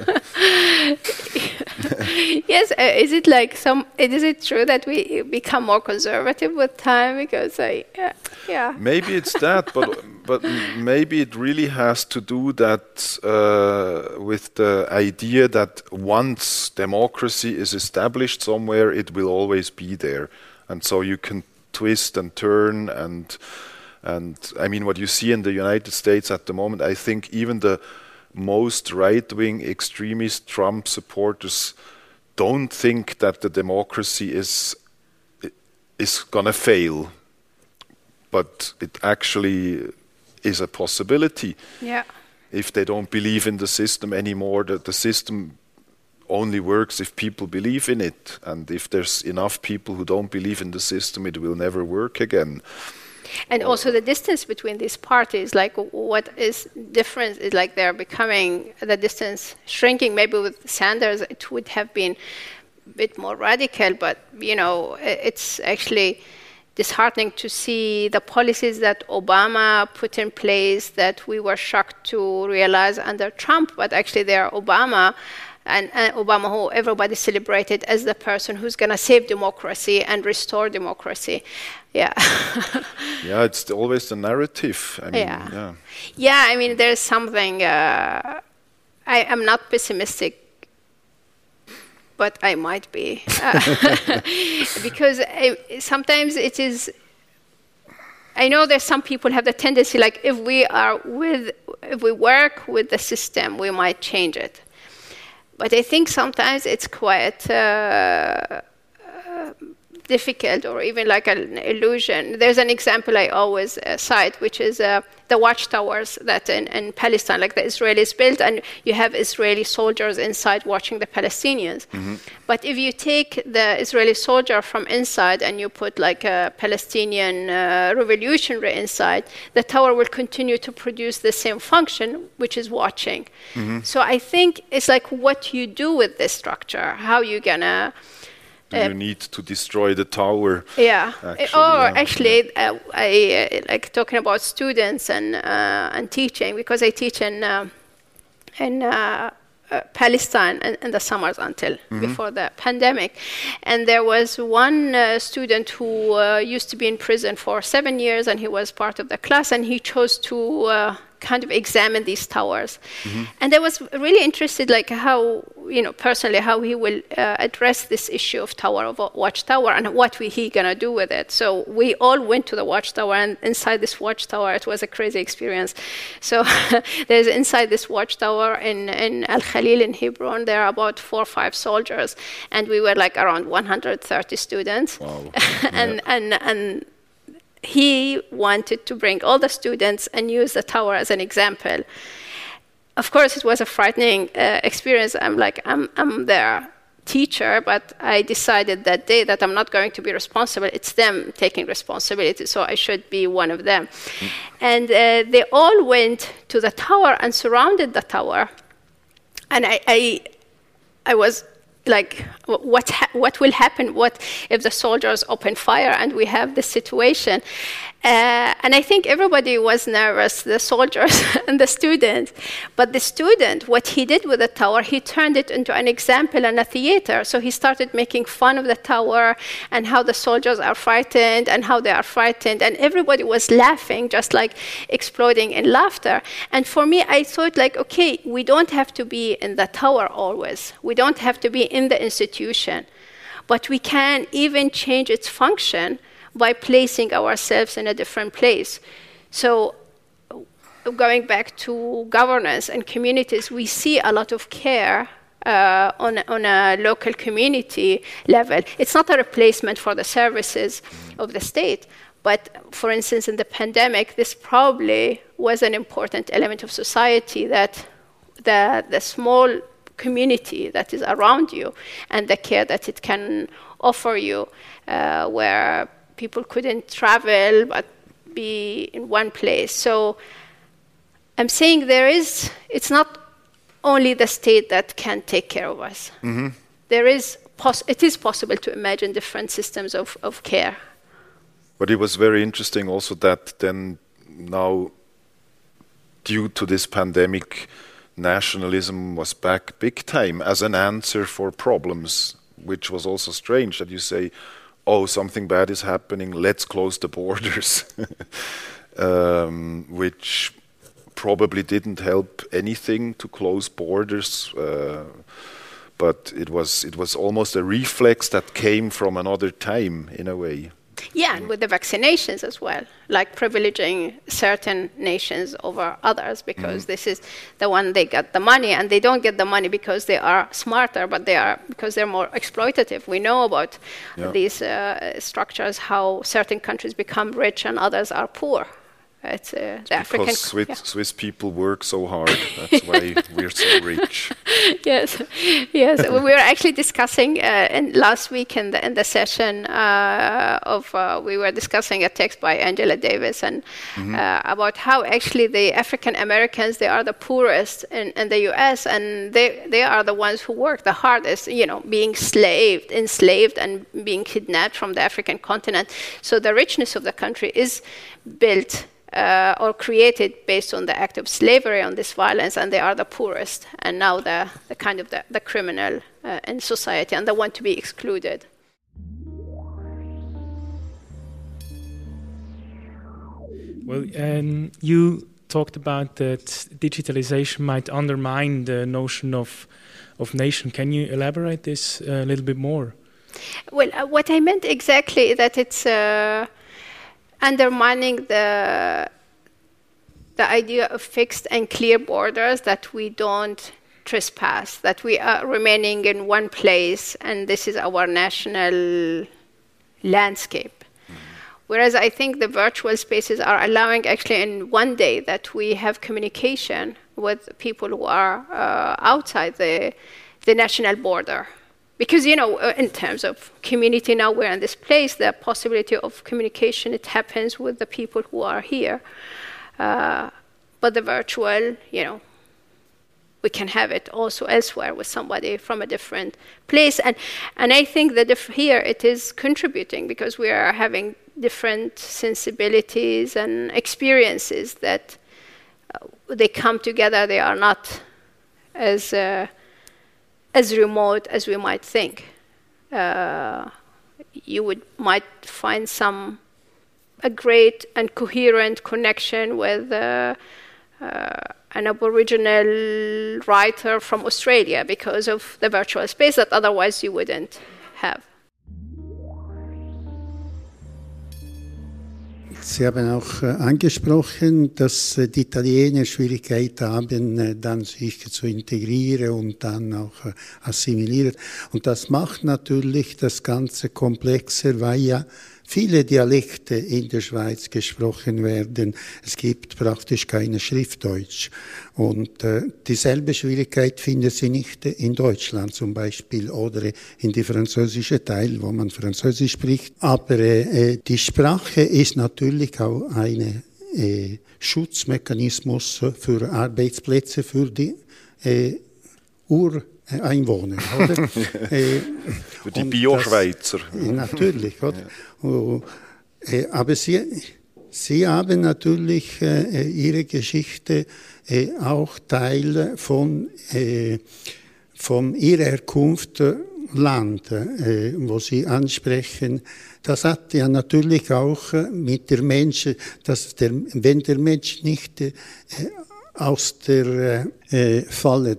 Speaker 3: Yes, is it true that we become more conservative with time? Because yeah.
Speaker 2: Maybe it's that, but maybe it really has to do that with the idea that once democracy is established somewhere, it will always be there, and so you can twist and turn and what you see in the United States at the moment, I think even the most right-wing extremist Trump supporters don't think that the democracy is gonna fail, but it actually is a possibility.
Speaker 3: Yeah.
Speaker 2: If they don't believe in the system anymore, the system only works if people believe in it, and if there's enough people who don't believe in the system, it will never work again.
Speaker 3: And also the distance between these parties, like what is different is like they're becoming, the distance shrinking. Maybe with Sanders it would have been a bit more radical, but it's actually disheartening to see the policies that Obama put in place that we were shocked to realize under Trump, but actually they are Obama. And Obama, who everybody celebrated as the person who's going to save democracy and restore democracy. Yeah.
Speaker 2: Yeah, it's always the narrative.
Speaker 3: There's something. I'm not pessimistic, but I might be. Because sometimes it is. I know that some people have the tendency, like if we work with the system, we might change it. But I think sometimes it's quite difficult, or even like an illusion. There's an example I always cite, which is the watchtowers that in Palestine, like the Israelis built, and you have Israeli soldiers inside watching the Palestinians. Mm-hmm. But if you take the Israeli soldier from inside and you put like a Palestinian revolutionary inside, the tower will continue to produce the same function, which is watching. Mm-hmm. So I think it's like what you do with this structure, how you're gonna
Speaker 2: Do you need to destroy the tower?
Speaker 3: Yeah.
Speaker 2: Actually,
Speaker 3: I like talking about students and teaching, because I teach in Palestine in the summers until before the pandemic. And there was one student who used to be in prison for 7 years, and he was part of the class, and he chose to kind of examine these towers. And I was really interested, like how, personally, how he will address this issue of watchtower, and what he gonna do with it. So we all went to the watchtower, and inside this watchtower, it was a crazy experience. So there's inside this watchtower in Al Khalil in Hebron, there are about 4 or 5 soldiers, and we were like around 130 students.
Speaker 2: Wow.
Speaker 3: and he wanted to bring all the students and use the tower as an example. Of course, it was a frightening experience. I'm their teacher, but I decided that day that I'm not going to be responsible. It's them taking responsibility, so I should be one of them. And they all went to the tower and surrounded the tower. And I was like, what will happen? What if the soldiers open fire and we have this situation? And I think everybody was nervous, the soldiers and the student. But the student, what he did with the tower, he turned it into an example and a theater. So he started making fun of the tower and how the soldiers are frightened and how they are frightened. And everybody was laughing, just like exploding in laughter. And for me, I thought like, okay, we don't have to be in the tower always. We don't have to be in the institution. But we can even change its function by placing ourselves in a different place. So going back to governance and communities, we see a lot of care on a local community level. It's not a replacement for the services of the state, but for instance, in the pandemic, this probably was an important element of society, that the small community that is around you and the care that it can offer you, where people couldn't travel but be in one place. So I'm saying it's not only the state that can take care of us. It is possible to imagine different systems of care.
Speaker 2: But it was very interesting also that then now, due to this pandemic, nationalism was back big time as an answer for problems, which was also strange that you say, oh, something bad is happening, let's close the borders, which probably didn't help anything to close borders, but it was almost a reflex that came from another time in a way.
Speaker 3: Yeah, and with the vaccinations as well, like privileging certain nations over others, because this is the one they get the money, and they don't get the money because they are smarter, but because they're more exploitative. We know about these structures, how certain countries become rich and others are poor. It's the African.
Speaker 2: Because Swiss people work so hard. That's why we're so rich.
Speaker 3: Yes. We were actually discussing last week in the session we were discussing a text by Angela Davis and about how actually the African Americans, they are the poorest in the U.S. and they are the ones who work the hardest. Being enslaved, and being kidnapped from the African continent. So the richness of the country is built. Or created based on the act of slavery, on this violence, and they are the poorest, and now the kind of the criminal in society, and the one to be excluded.
Speaker 5: Well, you talked about that digitalization might undermine the notion of nation. Can you elaborate this a little bit more?
Speaker 3: Well, what I meant exactly is that it's undermining the idea of fixed and clear borders, that we don't trespass, that we are remaining in one place, and this is our national landscape. Whereas I think the virtual spaces are allowing actually in one day that we have communication with people who are outside the national border. Because, in terms of community now, we're in this place, the possibility of communication, it happens with the people who are here. But the virtual, we can have it also elsewhere with somebody from a different place. And I think that here it is contributing because we are having different sensibilities and experiences that they come together. They are not as remote as we might think. You might find a great and coherent connection with an Aboriginal writer from Australia because of the virtual space that otherwise you wouldn't have.
Speaker 6: Sie haben auch angesprochen, dass die Italiener Schwierigkeiten haben, dann sich zu integrieren und dann auch assimilieren. Und das macht natürlich das Ganze komplexer, weil ja viele Dialekte in der Schweiz gesprochen werden. Es gibt praktisch keine Schriftdeutsch. Und dieselbe Schwierigkeit findet sie nicht in Deutschland zum Beispiel oder in die französische Teil, wo man Französisch spricht. Aber die Sprache ist natürlich auch ein Schutzmechanismus für Arbeitsplätze für die Ureinwohner, oder?
Speaker 2: Für die Bio-Schweizer.
Speaker 6: Natürlich, oder? Ja. Aber Sie haben natürlich Ihre Geschichte auch Teil von Ihrer Herkunft Land, wo Sie ansprechen. Das hat ja natürlich auch mit der Mensch, wenn der Mensch nicht aus der Falle,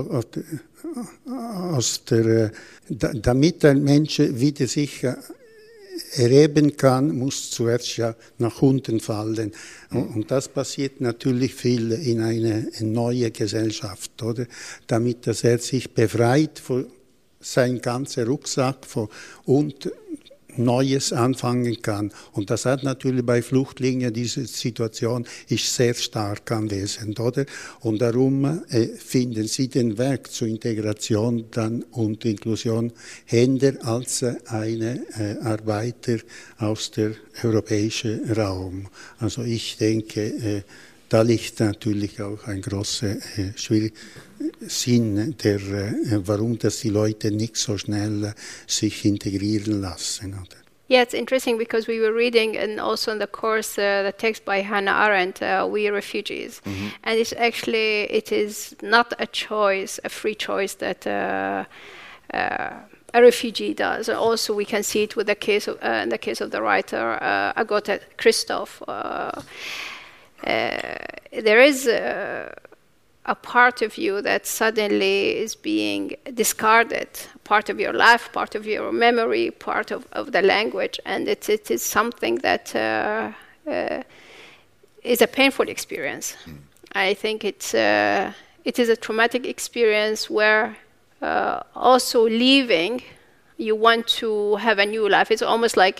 Speaker 6: damit ein Mensch wieder sich erheben kann, muss zuerst ja nach unten fallen. Und das passiert natürlich viel in eine neue Gesellschaft, oder? Damit dass er sich befreit von seinem ganzen Rucksack und Neues anfangen kann. Und das hat natürlich bei Flüchtlingen, diese Situation ist sehr stark anwesend, oder? Und darum finden sie den Weg zur Integration dann und Inklusion händer als eine Arbeiter aus dem europäischen Raum. Also ich denke, da liegt natürlich auch ein großer Sinn, warum dass die Leute nicht so schnell sich integrieren lassen. Oder?
Speaker 3: Yeah, it's interesting because we were reading and also in the course the text by Hannah Arendt, We Refugees. Mm-hmm. And it is not a choice, a free choice that a refugee does. Also, we can see it with in the case of the writer Agota Christoph. There is a part of you that suddenly is being discarded, part of your life, part of your memory, part of the language, and it is something that is a painful experience. I think it is a traumatic experience where also leaving, you want to have a new life. It's almost like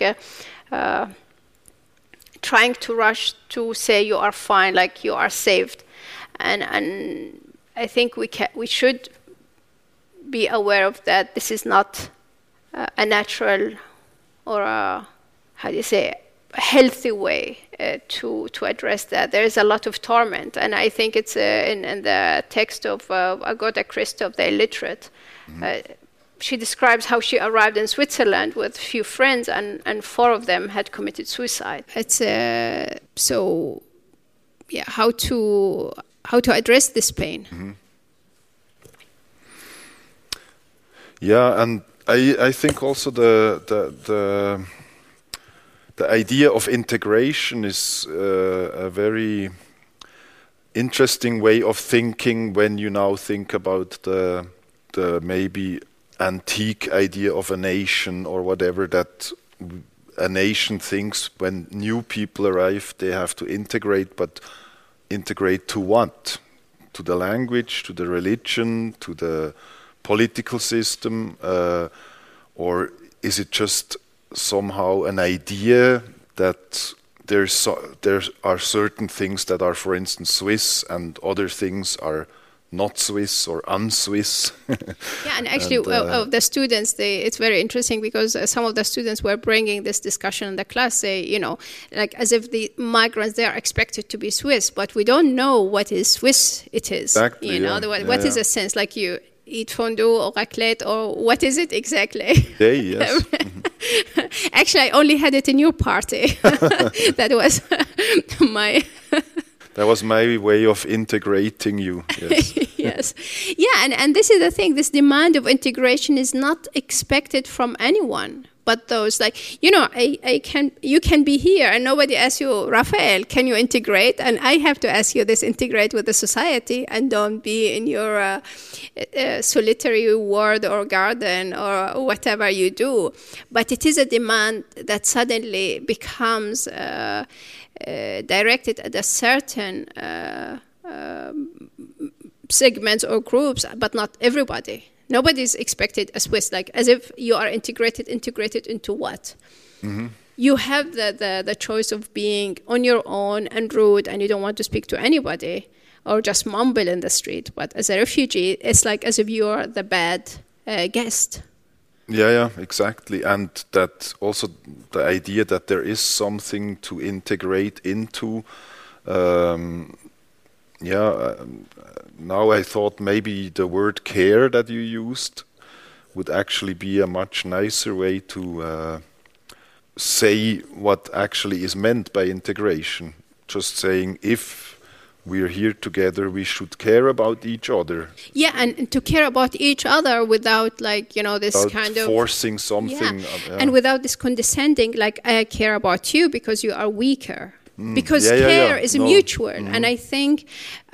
Speaker 3: trying to rush to say you are fine, like you are saved. And I think we should be aware of that. This is not a natural or a healthy way to address that. There is a lot of torment, and I think it's in the text of Agota Christoph, the illiterate. She describes how she arrived in Switzerland with few friends, and 4 of them had committed suicide. It's how to address this pain. Mm-hmm.
Speaker 2: Yeah, and I think also the idea of integration is a very interesting way of thinking when you now think about the maybe antique idea of a nation or whatever, that a nation thinks when new people arrive they have to integrate, but integrate to what? To the language, to the religion, to the political system, or is it just somehow an idea that there are certain things that are, for instance, Swiss and other things are not Swiss or un-Swiss.
Speaker 3: Yeah, and actually, of the students, it's very interesting because some of the students were bringing this discussion in the class, like as if the migrants, they are expected to be Swiss, but we don't know what is Swiss it is.
Speaker 2: Exactly,
Speaker 3: What is a sense, like you eat fondue or raclette, or what is it exactly?
Speaker 2: Yes.
Speaker 3: Actually, I only had it in your party. That was my...
Speaker 2: That was my way of integrating you. Yes.
Speaker 3: Yes. Yeah, and this is the thing. This demand of integration is not expected from anyone. But those, like, you can be here and nobody asks you, Raphael, can you integrate? And I have to ask you this, integrate with the society and don't be in your solitary ward or garden or whatever you do. But it is a demand that suddenly becomes directed at a certain segments or groups, but not everybody. Nobody is expected as Swiss, like as if you are integrated into what? Mm-hmm. You have the choice of being on your own and rude, and you don't want to speak to anybody or just mumble in the street. But as a refugee, it's like as if you are the bad guest.
Speaker 2: Yeah, exactly. And that also the idea that there is something to integrate into. Now I thought maybe the word care that you used would actually be a much nicer way to say what actually is meant by integration. Just saying, if we're here together, we should care about each other.
Speaker 3: Yeah, and to care about each other without, like, this
Speaker 2: without
Speaker 3: kind of...
Speaker 2: forcing something.
Speaker 3: Yeah. And without this condescending, like, I care about you because you are weaker. Because care is mutual. Mm-hmm. And I think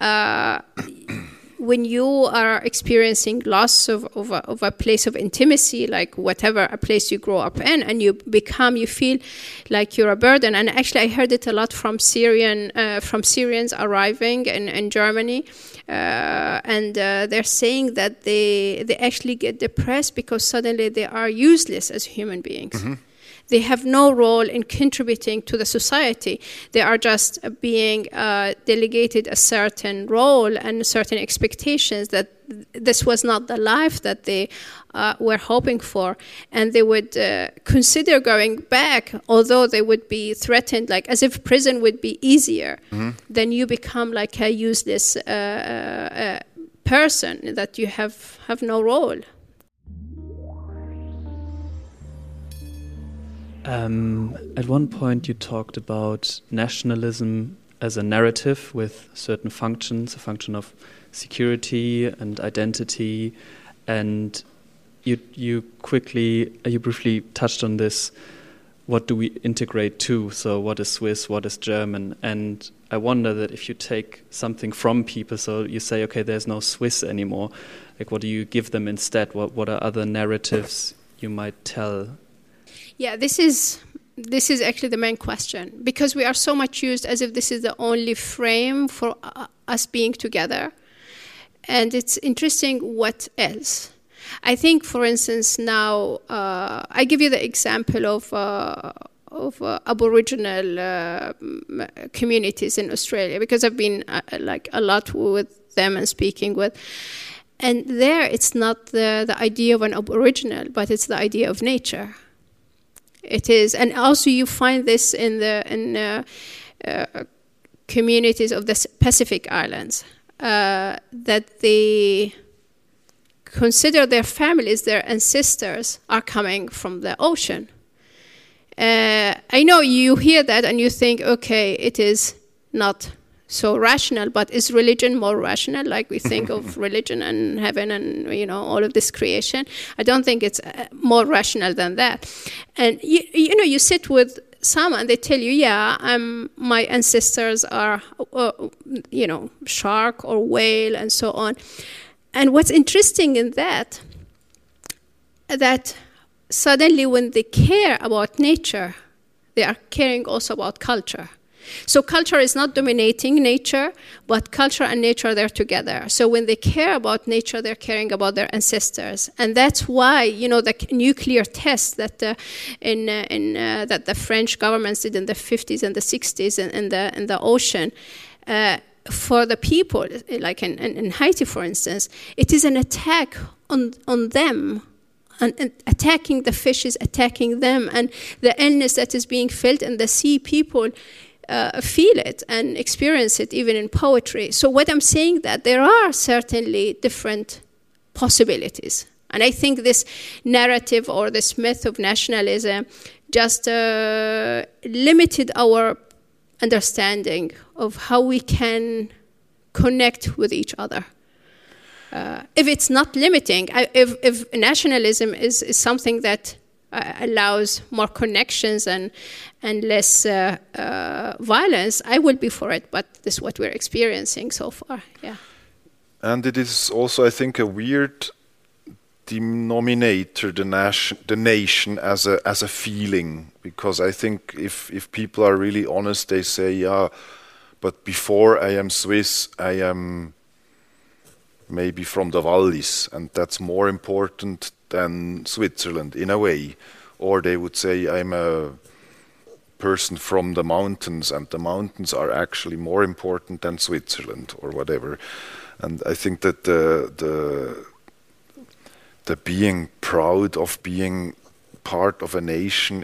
Speaker 3: when you are experiencing loss of a place of intimacy, like whatever a place you grow up in, and you feel like you're a burden. And actually, I heard it a lot from Syrians arriving in Germany, and they're saying that they actually get depressed because suddenly they are useless as human beings. Mm-hmm. They have no role in contributing to the society. They are just being delegated a certain role and certain expectations that this was not the life that they were hoping for. And they would consider going back, although they would be threatened, like as if prison would be easier. Mm-hmm. Then you become like a useless person, that you have no role.
Speaker 7: At one point you talked about nationalism as a narrative with certain functions, a function of security and identity, and you briefly touched on this. What do we integrate to? So what is Swiss, what is German? And I wonder that if you take something from people, so you say, okay, there's no Swiss anymore, like what do you give them instead? What are other narratives you might tell?
Speaker 3: Yeah, this is actually the main question, because we are so much used as if this is the only frame for us being together. And it's interesting what else. I think, for instance, now I give you the example of Aboriginal communities in Australia, because I've been like a lot with them and speaking with. And there, it's not the idea of an Aboriginal, but it's the idea of nature. It is, and also you find this in the communities of the Pacific Islands, that they consider their families, their ancestors, are coming from the ocean. I know you hear that and you think, okay, it is not so rational, but is religion more rational? Like we think of religion and heaven and, all of this creation. I don't think it's more rational than that. And, you sit with some and they tell you, my ancestors are, shark or whale and so on. And what's interesting in that suddenly when they care about nature, they are caring also about culture. So culture is not dominating nature, but culture and nature, they're together. So when they care about nature, they're caring about their ancestors. And that's why, the nuclear tests that that the French governments did in the 50s and the 60s in the ocean, for the people, like in Haiti, for instance, it is an attack on them. And attacking the fishes, attacking them, and the illness that is being felt in the sea, people feel it and experience it even in poetry. So what I'm saying that there are certainly different possibilities. And I think this narrative or this myth of nationalism just limited our understanding of how we can connect with each other. If it's not limiting, if nationalism is something that allows more connections and less violence, I will be for it. But this is what we're experiencing so far. Yeah.
Speaker 2: And it is also, I think, a weird denominator, the nation as a feeling, because I think if people are really honest, they say, yeah, but before I am Swiss, I am maybe from the Wallis, and that's more important than Switzerland in a way. Or they would say I'm a person from the mountains, and the mountains are actually more important than Switzerland or whatever. And I think that the being proud of being part of a nation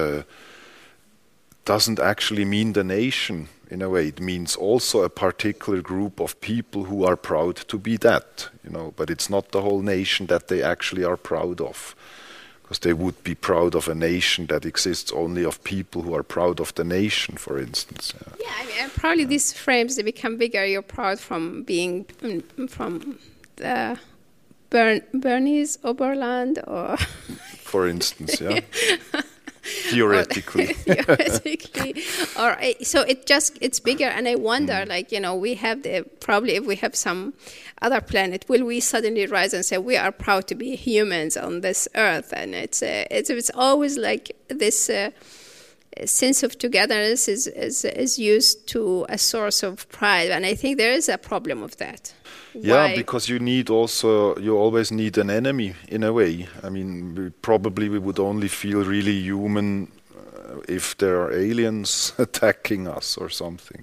Speaker 2: doesn't actually mean the nation. In a way, it means also a particular group of people who are proud to be that, but it's not the whole nation that they actually are proud of, because they would be proud of a nation that exists only of people who are proud of the nation, for instance.
Speaker 3: Yeah, I mean, probably these frames, they become bigger. You're proud from being from the Bernese Oberland, or
Speaker 2: for instance, yeah. Theoretically.
Speaker 3: Or so it's bigger, and I wonder, we have probably if we have some other planet, will we suddenly rise and say we are proud to be humans on this earth? And it's always like this sense of togetherness is used to a source of pride, and I think there is a problem of that.
Speaker 2: Yeah, because you always need an enemy in a way. I mean, we would only feel really human if there are aliens attacking us or something.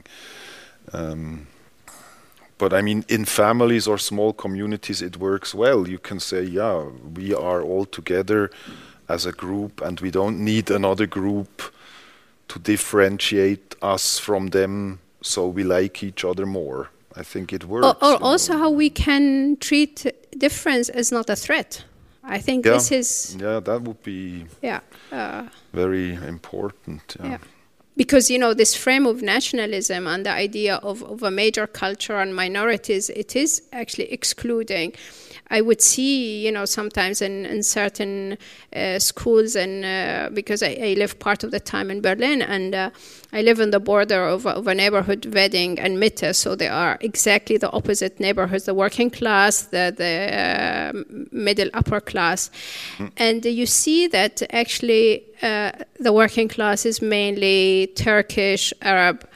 Speaker 2: But I mean, in families or small communities, it works well. You can say, yeah, we are all together as a group, and we don't need another group to differentiate us from them, so we like each other more. I think it works.
Speaker 3: Or also how we can treat difference as not a threat. I think this is...
Speaker 2: Yeah, that would be very important. Yeah.
Speaker 3: Because, this frame of nationalism and the idea of a major culture and minorities, it is actually excluding. I would see, sometimes in certain schools, and because I live part of the time in Berlin, and I live on the border of a neighborhood, Wedding and Mitte, so they are exactly the opposite neighborhoods, the working class, the middle upper class. And you see that actually the working class is mainly Turkish, Arab,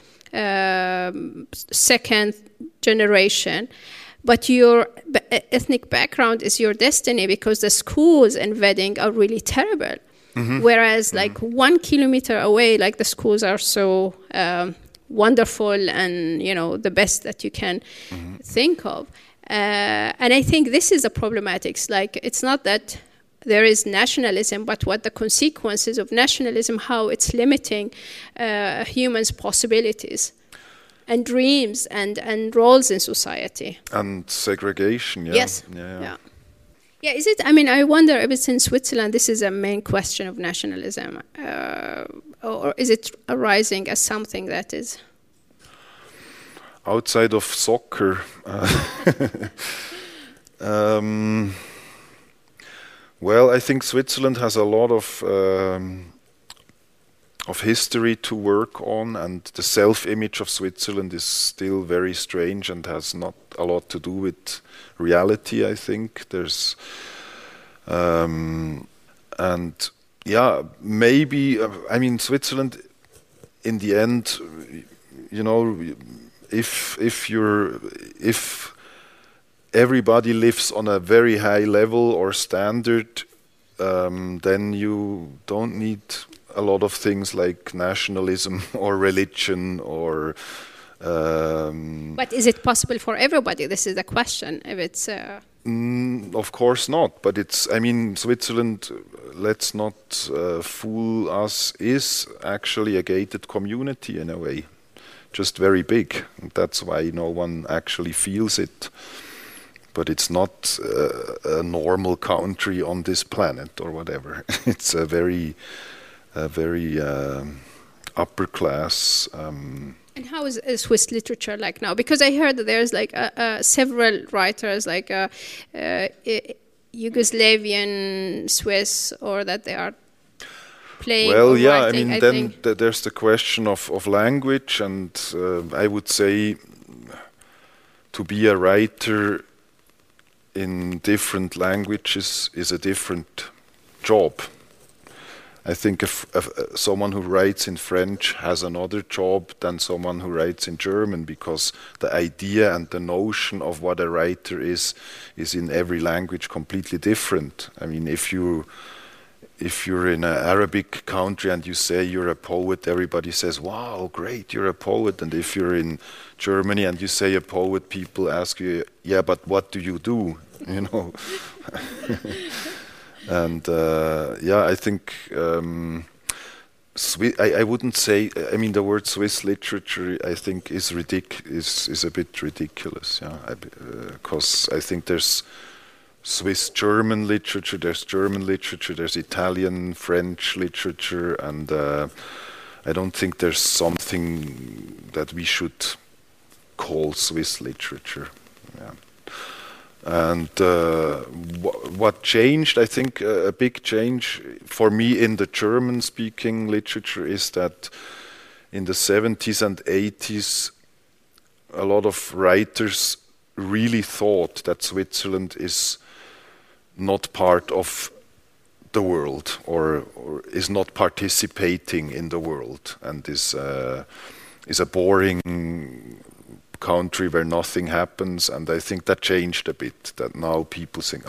Speaker 3: second generation. But your ethnic background is your destiny, because the schools in Wedding are really terrible. Mm-hmm. Whereas, 1 kilometer away, the schools are so wonderful and, the best that you can think of. And I think this is the problematics. It's not that there is nationalism, but what the consequences of nationalism, how it's limiting humans' possibilities and dreams and roles in society.
Speaker 2: And segregation, yeah.
Speaker 3: Yes. Yeah, is it? I mean, I wonder if it's in Switzerland, this is a main question of nationalism, or is it arising as something that is...
Speaker 2: Outside of soccer, well, I think Switzerland has a lot of history to work on, and the self-image of Switzerland is still very strange and has not a lot to do with reality, I think. There's maybe I mean, Switzerland in the end, if everybody lives on a very high level or standard, then you don't need a lot of things like nationalism or religion or
Speaker 3: But is it possible for everybody? This is the question. If it's
Speaker 2: of course not. But Switzerland, let's not fool us, is actually a gated community in a way, just very big. That's why no one actually feels it. But it's not a normal country on this planet or whatever. It's a very upper class.
Speaker 3: And how is Swiss literature like now? Because I heard that there's like several writers, like Yugoslavian Swiss, or that they are playing.
Speaker 2: Well,
Speaker 3: or
Speaker 2: yeah,
Speaker 3: writing,
Speaker 2: there's the question of language, and I would say to be a writer in different languages is a different job. I think if someone who writes in French has another job than someone who writes in German, because the idea and the notion of what a writer is in every language completely different. I mean, if you're in an Arabic country and you say you're a poet, everybody says, "Wow, great, you're a poet." And if you're in Germany and you say a poet, people ask you, "Yeah, but what do you do?" You know. And I think I wouldn't say. I mean, the word Swiss literature, I think, is a bit ridiculous. Yeah, because I think there's Swiss German literature, there's German literature, there's Italian, French literature, and I don't think there's something that we should call Swiss literature. Yeah. And what changed, I think a big change for me in the German-speaking literature is that in the 70s and 80s, a lot of writers really thought that Switzerland is not part of the world or is not participating in the world and is a boring country where nothing happens. And I think that changed a bit, that now people think,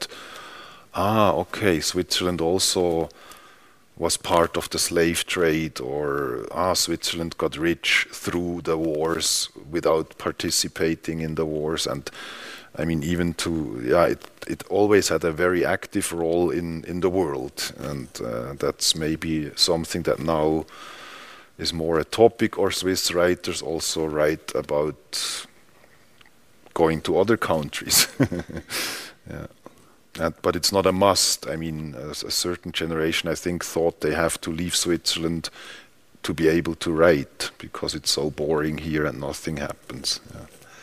Speaker 2: okay, Switzerland also was part of the slave trade, or Switzerland got rich through the wars without participating in the wars. And I mean, even it always had a very active role in the world, and that's maybe something that now is more a topic, or Swiss writers also write about going to other countries. Yeah. But it's not a must. I mean, a certain generation, I think, thought they have to leave Switzerland to be able to write, because it's so boring here and nothing happens. Yeah.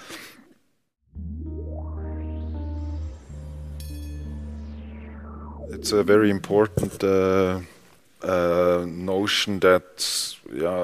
Speaker 2: It's a very important notion that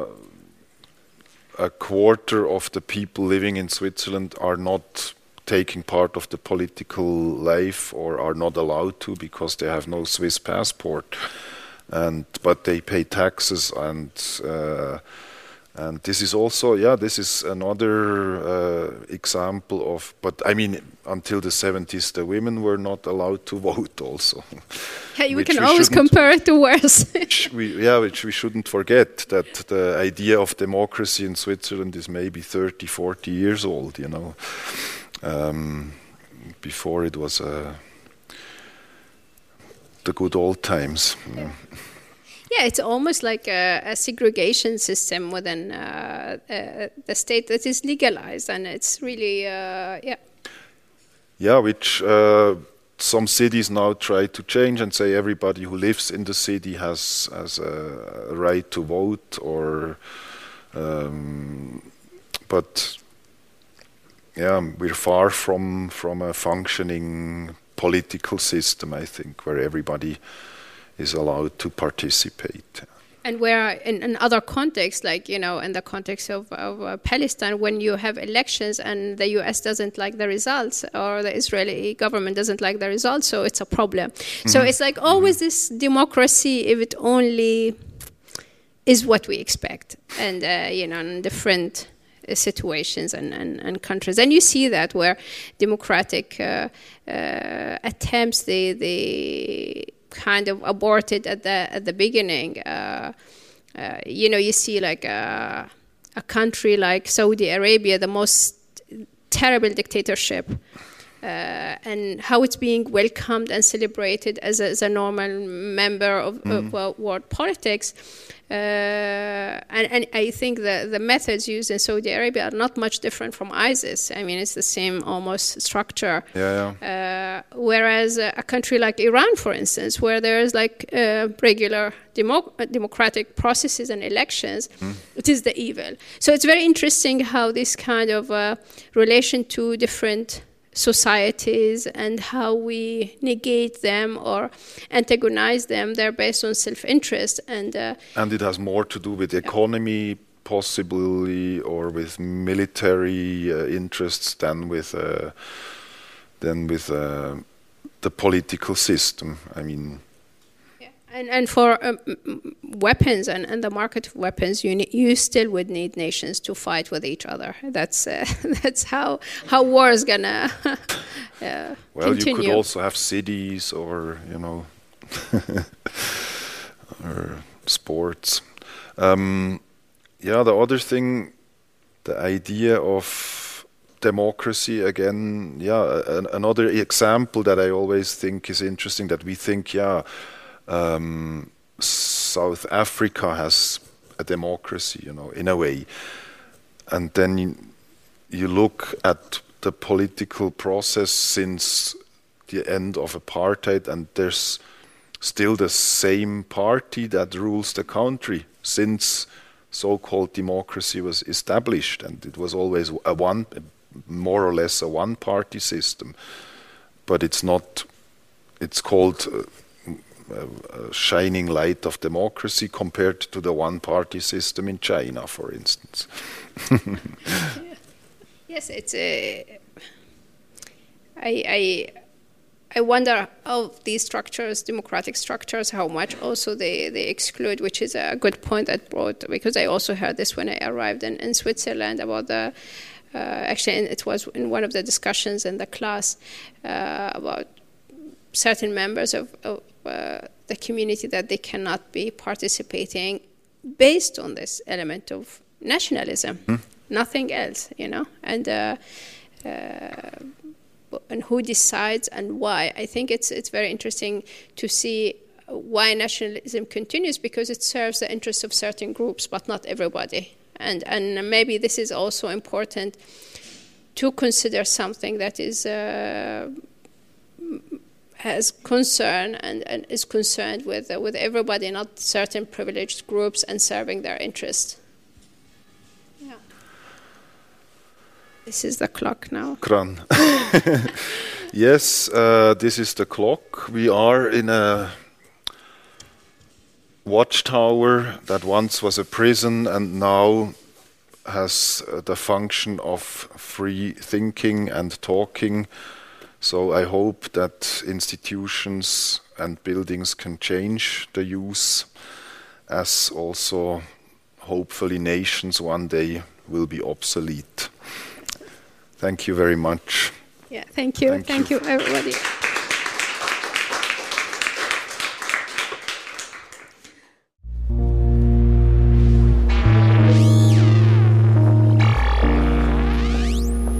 Speaker 2: a quarter of the people living in Switzerland are not taking part of the political life, or are not allowed to, because they have no Swiss passport, but they pay taxes, and this is also this is another example of. But I mean, until the 70s, the women were not allowed to vote also.
Speaker 3: Hey, we can always compare it to worse.
Speaker 2: which we shouldn't forget, that the idea of democracy in Switzerland is maybe 30, 40 years old, you know. Before it was the good old times.
Speaker 3: Yeah, it's almost like a segregation system within the state that is legalized, and it's really,
Speaker 2: Yeah, which some cities now try to change and say everybody who lives in the city has a right to vote, or but we're far from a functioning political system, I think, where everybody is allowed to participate.
Speaker 3: And where in other contexts, like, you know, in the context of Palestine, when you have elections and the US doesn't like the results, or the Israeli government doesn't like the results, so it's a problem. Mm-hmm. So it's like always this democracy, if it only is what we expect, and in different situations and countries. And you see that where democratic attempts, they kind of aborted at the beginning. You see like a country like Saudi Arabia, the most terrible dictatorship, and how it's being welcomed and celebrated as a normal member of world politics. And I think the methods used in Saudi Arabia are not much different from ISIS. I mean, it's the same almost structure. Whereas a country like Iran, for instance, where there is like regular democratic processes and elections, it is the evil. So it's very interesting how this kind of relation to different societies and how we negate them or antagonize them, they're based on self-interest. And
Speaker 2: it has more to do with economy, possibly, or with military interests than with the political system. I mean...
Speaker 3: And for weapons and the market of weapons, you still would need nations to fight with each other. That's how war is gonna
Speaker 2: well,
Speaker 3: continue.
Speaker 2: You could also have cities, or or sports. The other thing, the idea of democracy again. Another example that I always think is interesting, that we think, South Africa has a democracy, in a way. And then you look at the political process since the end of apartheid, and there's still the same party that rules the country since so-called democracy was established. And it was always more or less a one-party system. But it's not, it's called... a shining light of democracy compared to the one-party system in China, for instance.
Speaker 3: Yes, it's I wonder of these structures, democratic structures, how much also they exclude, which is a good point that brought, because I also heard this when I arrived in Switzerland about the, actually it was in one of the discussions in the class about certain members of the community that they cannot be participating based on this element of nationalism, nothing else, and who decides and why. I think it's very interesting to see why nationalism continues, because it serves the interests of certain groups, but not everybody. And maybe this is also important to consider something that is has concern and is concerned with everybody, not certain privileged groups, and serving their interests. Yeah. This is the clock now.
Speaker 2: Kran. Yes, this is the clock. We are in a watchtower that once was a prison and now has the function of free thinking and talking. So I hope that institutions and buildings can change the use, as also hopefully nations one day will be obsolete. Thank you very much.
Speaker 3: Yeah, thank you. Thank you, everybody.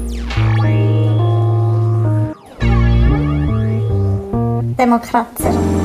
Speaker 4: Demokracja.